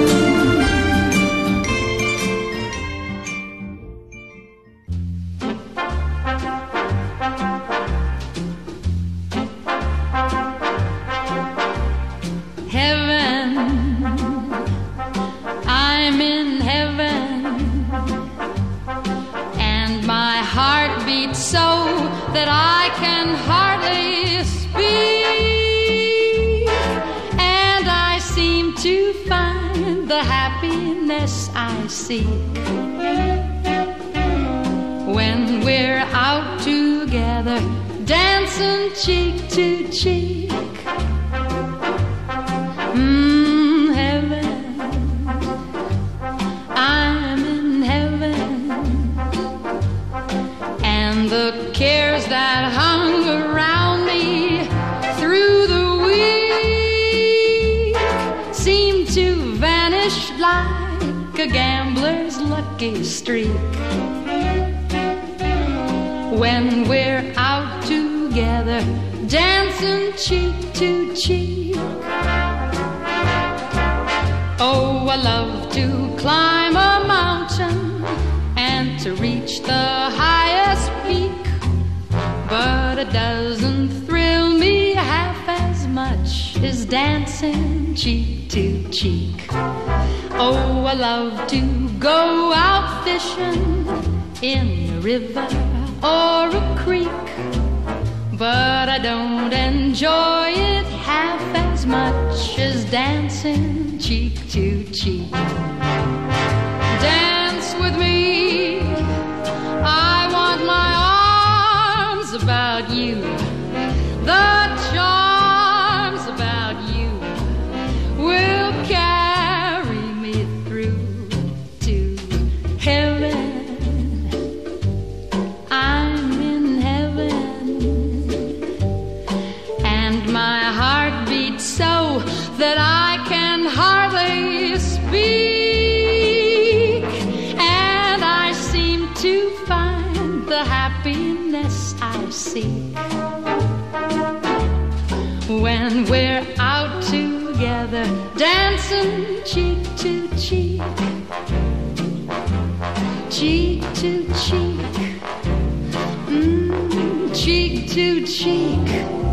That I can hardly speak, and I seem to find the happiness I seek when we're out together, dancing cheek to cheek. Heaven, I'm in heaven, and the cares that hung around me through the week seem to vanish like a gambler's lucky streak when we're out together, dancing cheek to cheek. Oh, I love to climb a mountain and to reach the highest peak, but it doesn't thrill me half as much as dancing cheek to cheek. Oh, I love to go out fishing in a river or a creek, but I don't enjoy it half as much as dancing cheek to cheek. Dance with me, I want my arms about you, the charms about you will carry me through to heaven. I'm in heaven, and my heart beats so that I can hardly speak, and I seem to find the happiness I seek when we're out together, dancing cheek to cheek, cheek to cheek, cheek to cheek.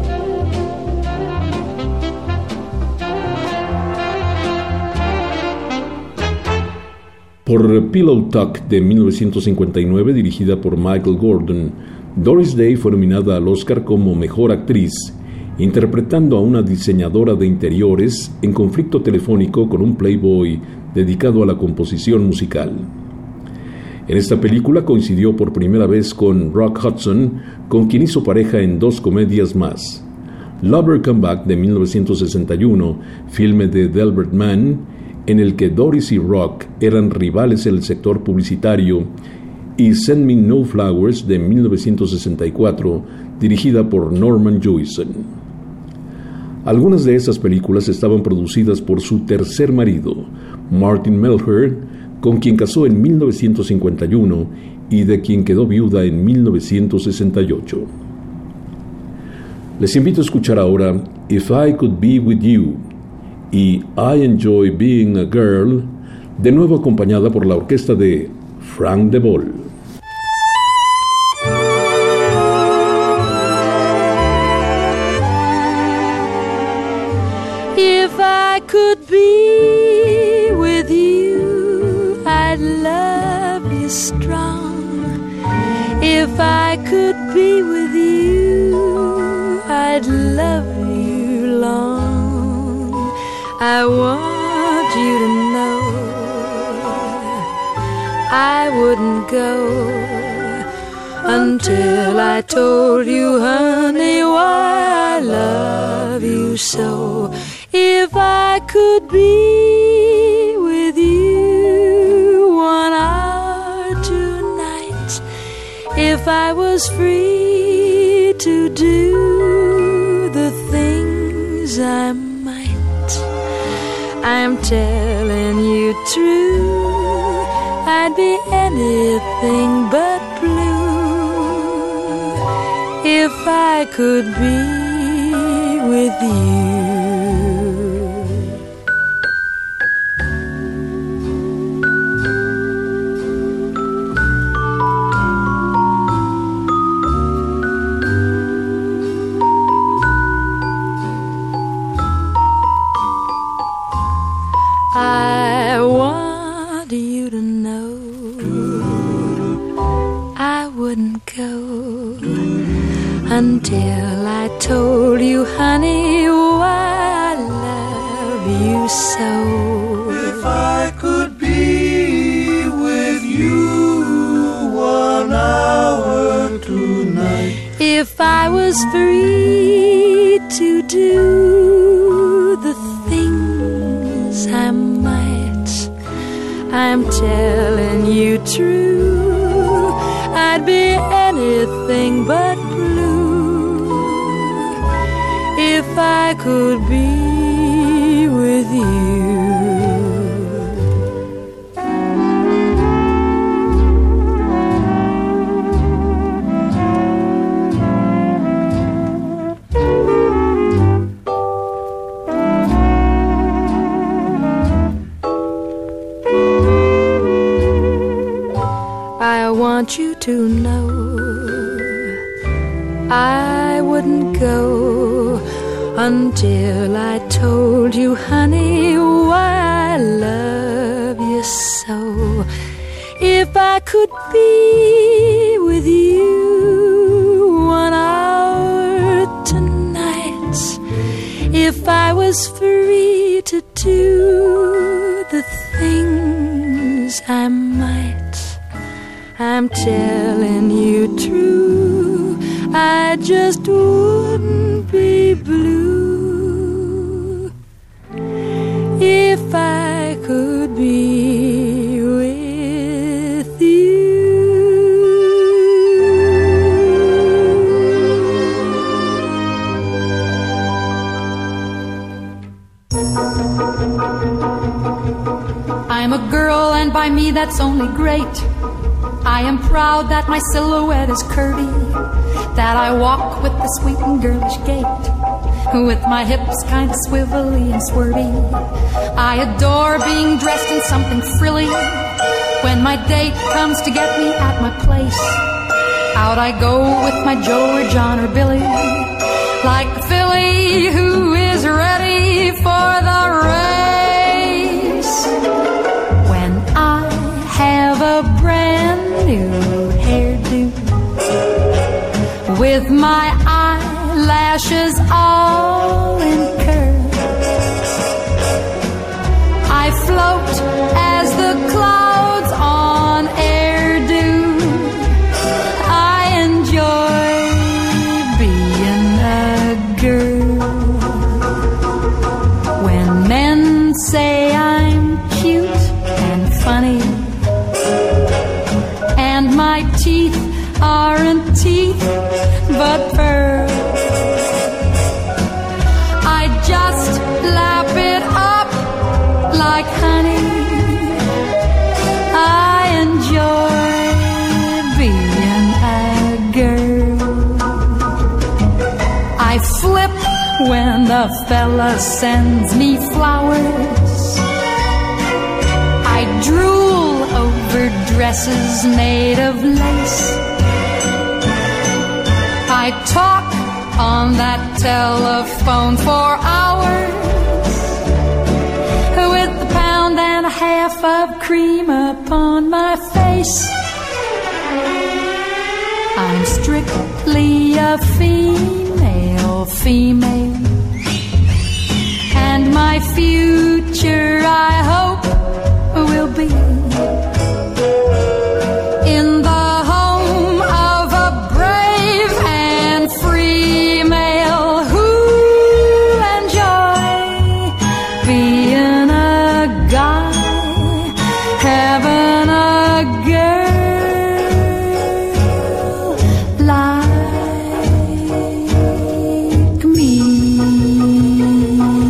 Por Pillow Talk de 1959, dirigida por Michael Gordon, Doris Day fue nominada al Oscar como Mejor Actriz, interpretando a una diseñadora de interiores en conflicto telefónico con un playboy dedicado a la composición musical. En esta película coincidió por primera vez con Rock Hudson, con quien hizo pareja en 2 comedias más: Lover Come Back de 1961, filme de Delbert Mann, en el que Doris y Rock eran rivales en el sector publicitario, y Send Me No Flowers de 1964, dirigida por Norman Jewison. Algunas de esas películas estaban producidas por su tercer marido, Martin Melher, con quien casó en 1951 y de quien quedó viuda en 1968. Les invito a escuchar ahora If I Could Be With You y I Enjoy Being a Girl, de nuevo acompañada por la orquesta de Frank de Vol. If I could be with you, I'd love you strong. If I could be with you, I'd love you long. I want you to know I wouldn't go until I told you, honey, why I love you so. If I could be with you 1 hour tonight, if I was free to do the things I I might. I'm telling you true, I'd be anything but blue if I could be with you. I want you to know I wouldn't go until I told you, honey, why I love you so. If I could be with you 1 hour tonight. If I was free to do the things I might, I'm telling you true, I'd be anything but blue if I could be with you. I want you to know I wouldn't go until I told you, honey, why I love you so. If I could be with you 1 hour tonight, if I was free to do the things I might, I'm telling you true, I just wouldn't be blue if I could be with you. I'm a girl, and by me that's only great. I am proud that my silhouette is curvy, that I walk with the sweet and girlish gait, with my hips kind of swivelly and swervy. I adore being dressed in something frilly. When my date comes to get me at my place, out I go with my Joe or John or Billy, like a filly who is ready for the race. When I have a brand new hairdo, with my eyelashes all in curl, I float as the clouds on air do. I enjoy being a girl. When men say I'm cute and funny, and my teeth aren't teeth but pearl, I just lap it up like honey. I enjoy being a girl. I flip when the fella sends me flowers. I drool over dresses made of lace. I talk on that telephone for hours, with a pound and a half of cream upon my face. I'm strictly a female, and my future, I hope, will be in the home of a brave and free male who enjoy being a guy, having a girl like me.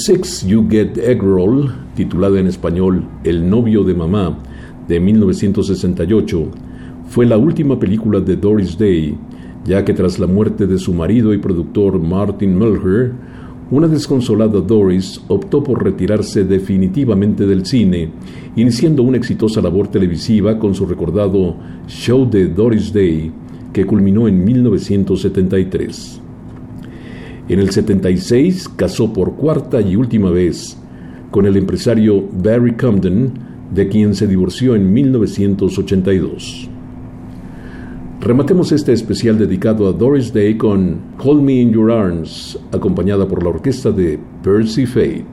Six You Get Egg Roll, titulada en español El novio de mamá, de 1968, fue la última película de Doris Day, ya que tras la muerte de su marido y productor Martin Mulher, una desconsolada Doris optó por retirarse definitivamente del cine, iniciando una exitosa labor televisiva con su recordado Show de Doris Day, que culminó en 1973. En el 76 casó por cuarta y última vez con el empresario Barry Comden, de quien se divorció en 1982. Rematemos este especial dedicado a Doris Day con Hold Me in Your Arms, acompañada por la orquesta de Percy Faith.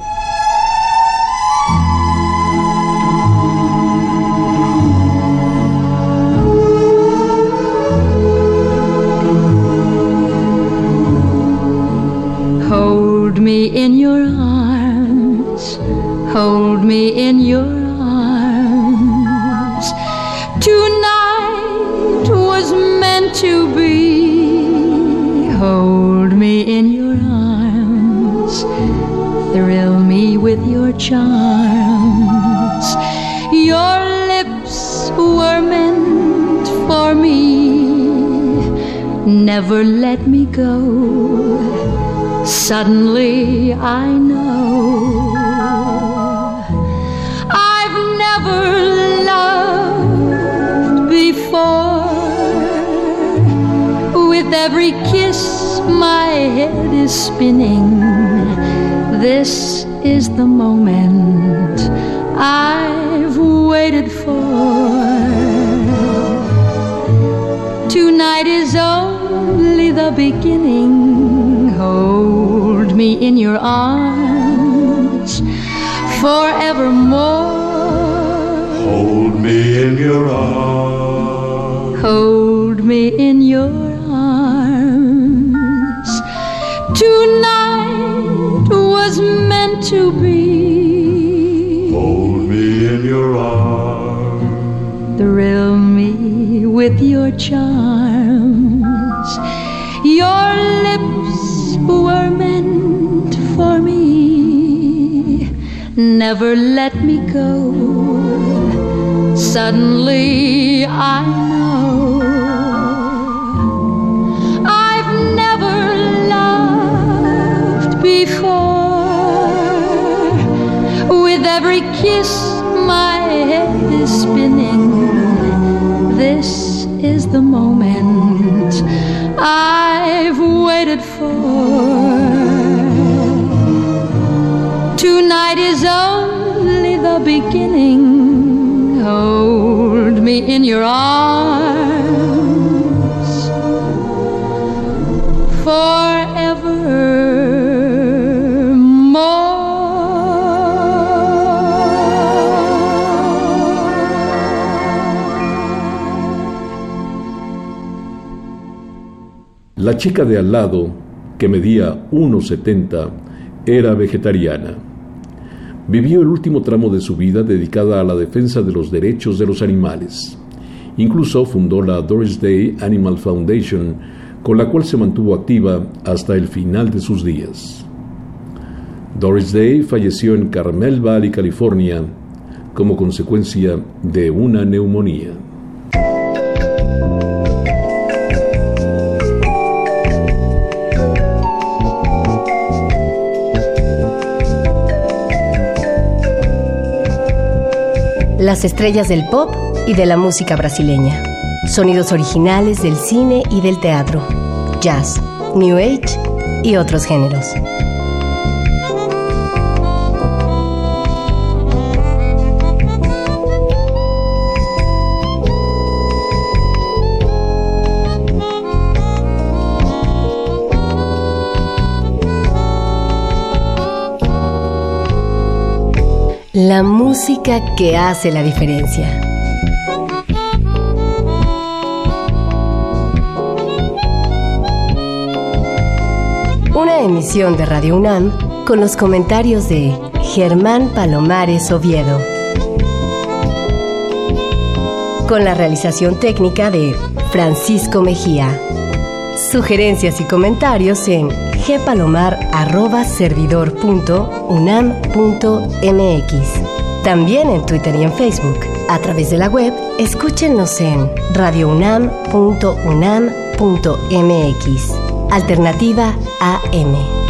Hold me in your arms, hold me in your arms. Tonight was meant to be. Hold me in your arms, thrill me with your charms. Your lips were meant for me. Never let me go. Suddenly I know I've never loved before. With every kiss my head is spinning. This is the moment I've waited for. Tonight is only the beginning. Hold me in your arms forevermore. Hold me in your arms. Hold me in your arms. Tonight was meant to be. Hold me in your arms. Thrill me with your charms. Your lips were meant for me. Never let me go. Suddenly I know I've never loved before. With every kiss my head is spinning. This is the moment I've waited for. Tonight is only the beginning. Hold me in your arms forevermore. La chica de al lado, que medía 1,70, era vegetariana. Vivió el último tramo de su vida dedicada a la defensa de los derechos de los animales. Incluso fundó la Doris Day Animal Foundation, con la cual se mantuvo activa hasta el final de sus días. Doris Day falleció en Carmel Valley, California, como consecuencia de una neumonía. Las estrellas del pop y de la música brasileña. Sonidos originales del cine y del teatro. Jazz, New Age y otros géneros. La música que hace la diferencia. Una emisión de Radio UNAM con los comentarios de Germán Palomares Oviedo. Con la realización técnica de Francisco Mejía. Sugerencias y comentarios en gpalomar@servidor.unam.mx. También en Twitter y en Facebook. A través de la web, escúchenos en radiounam.unam.mx. Alternativa AM.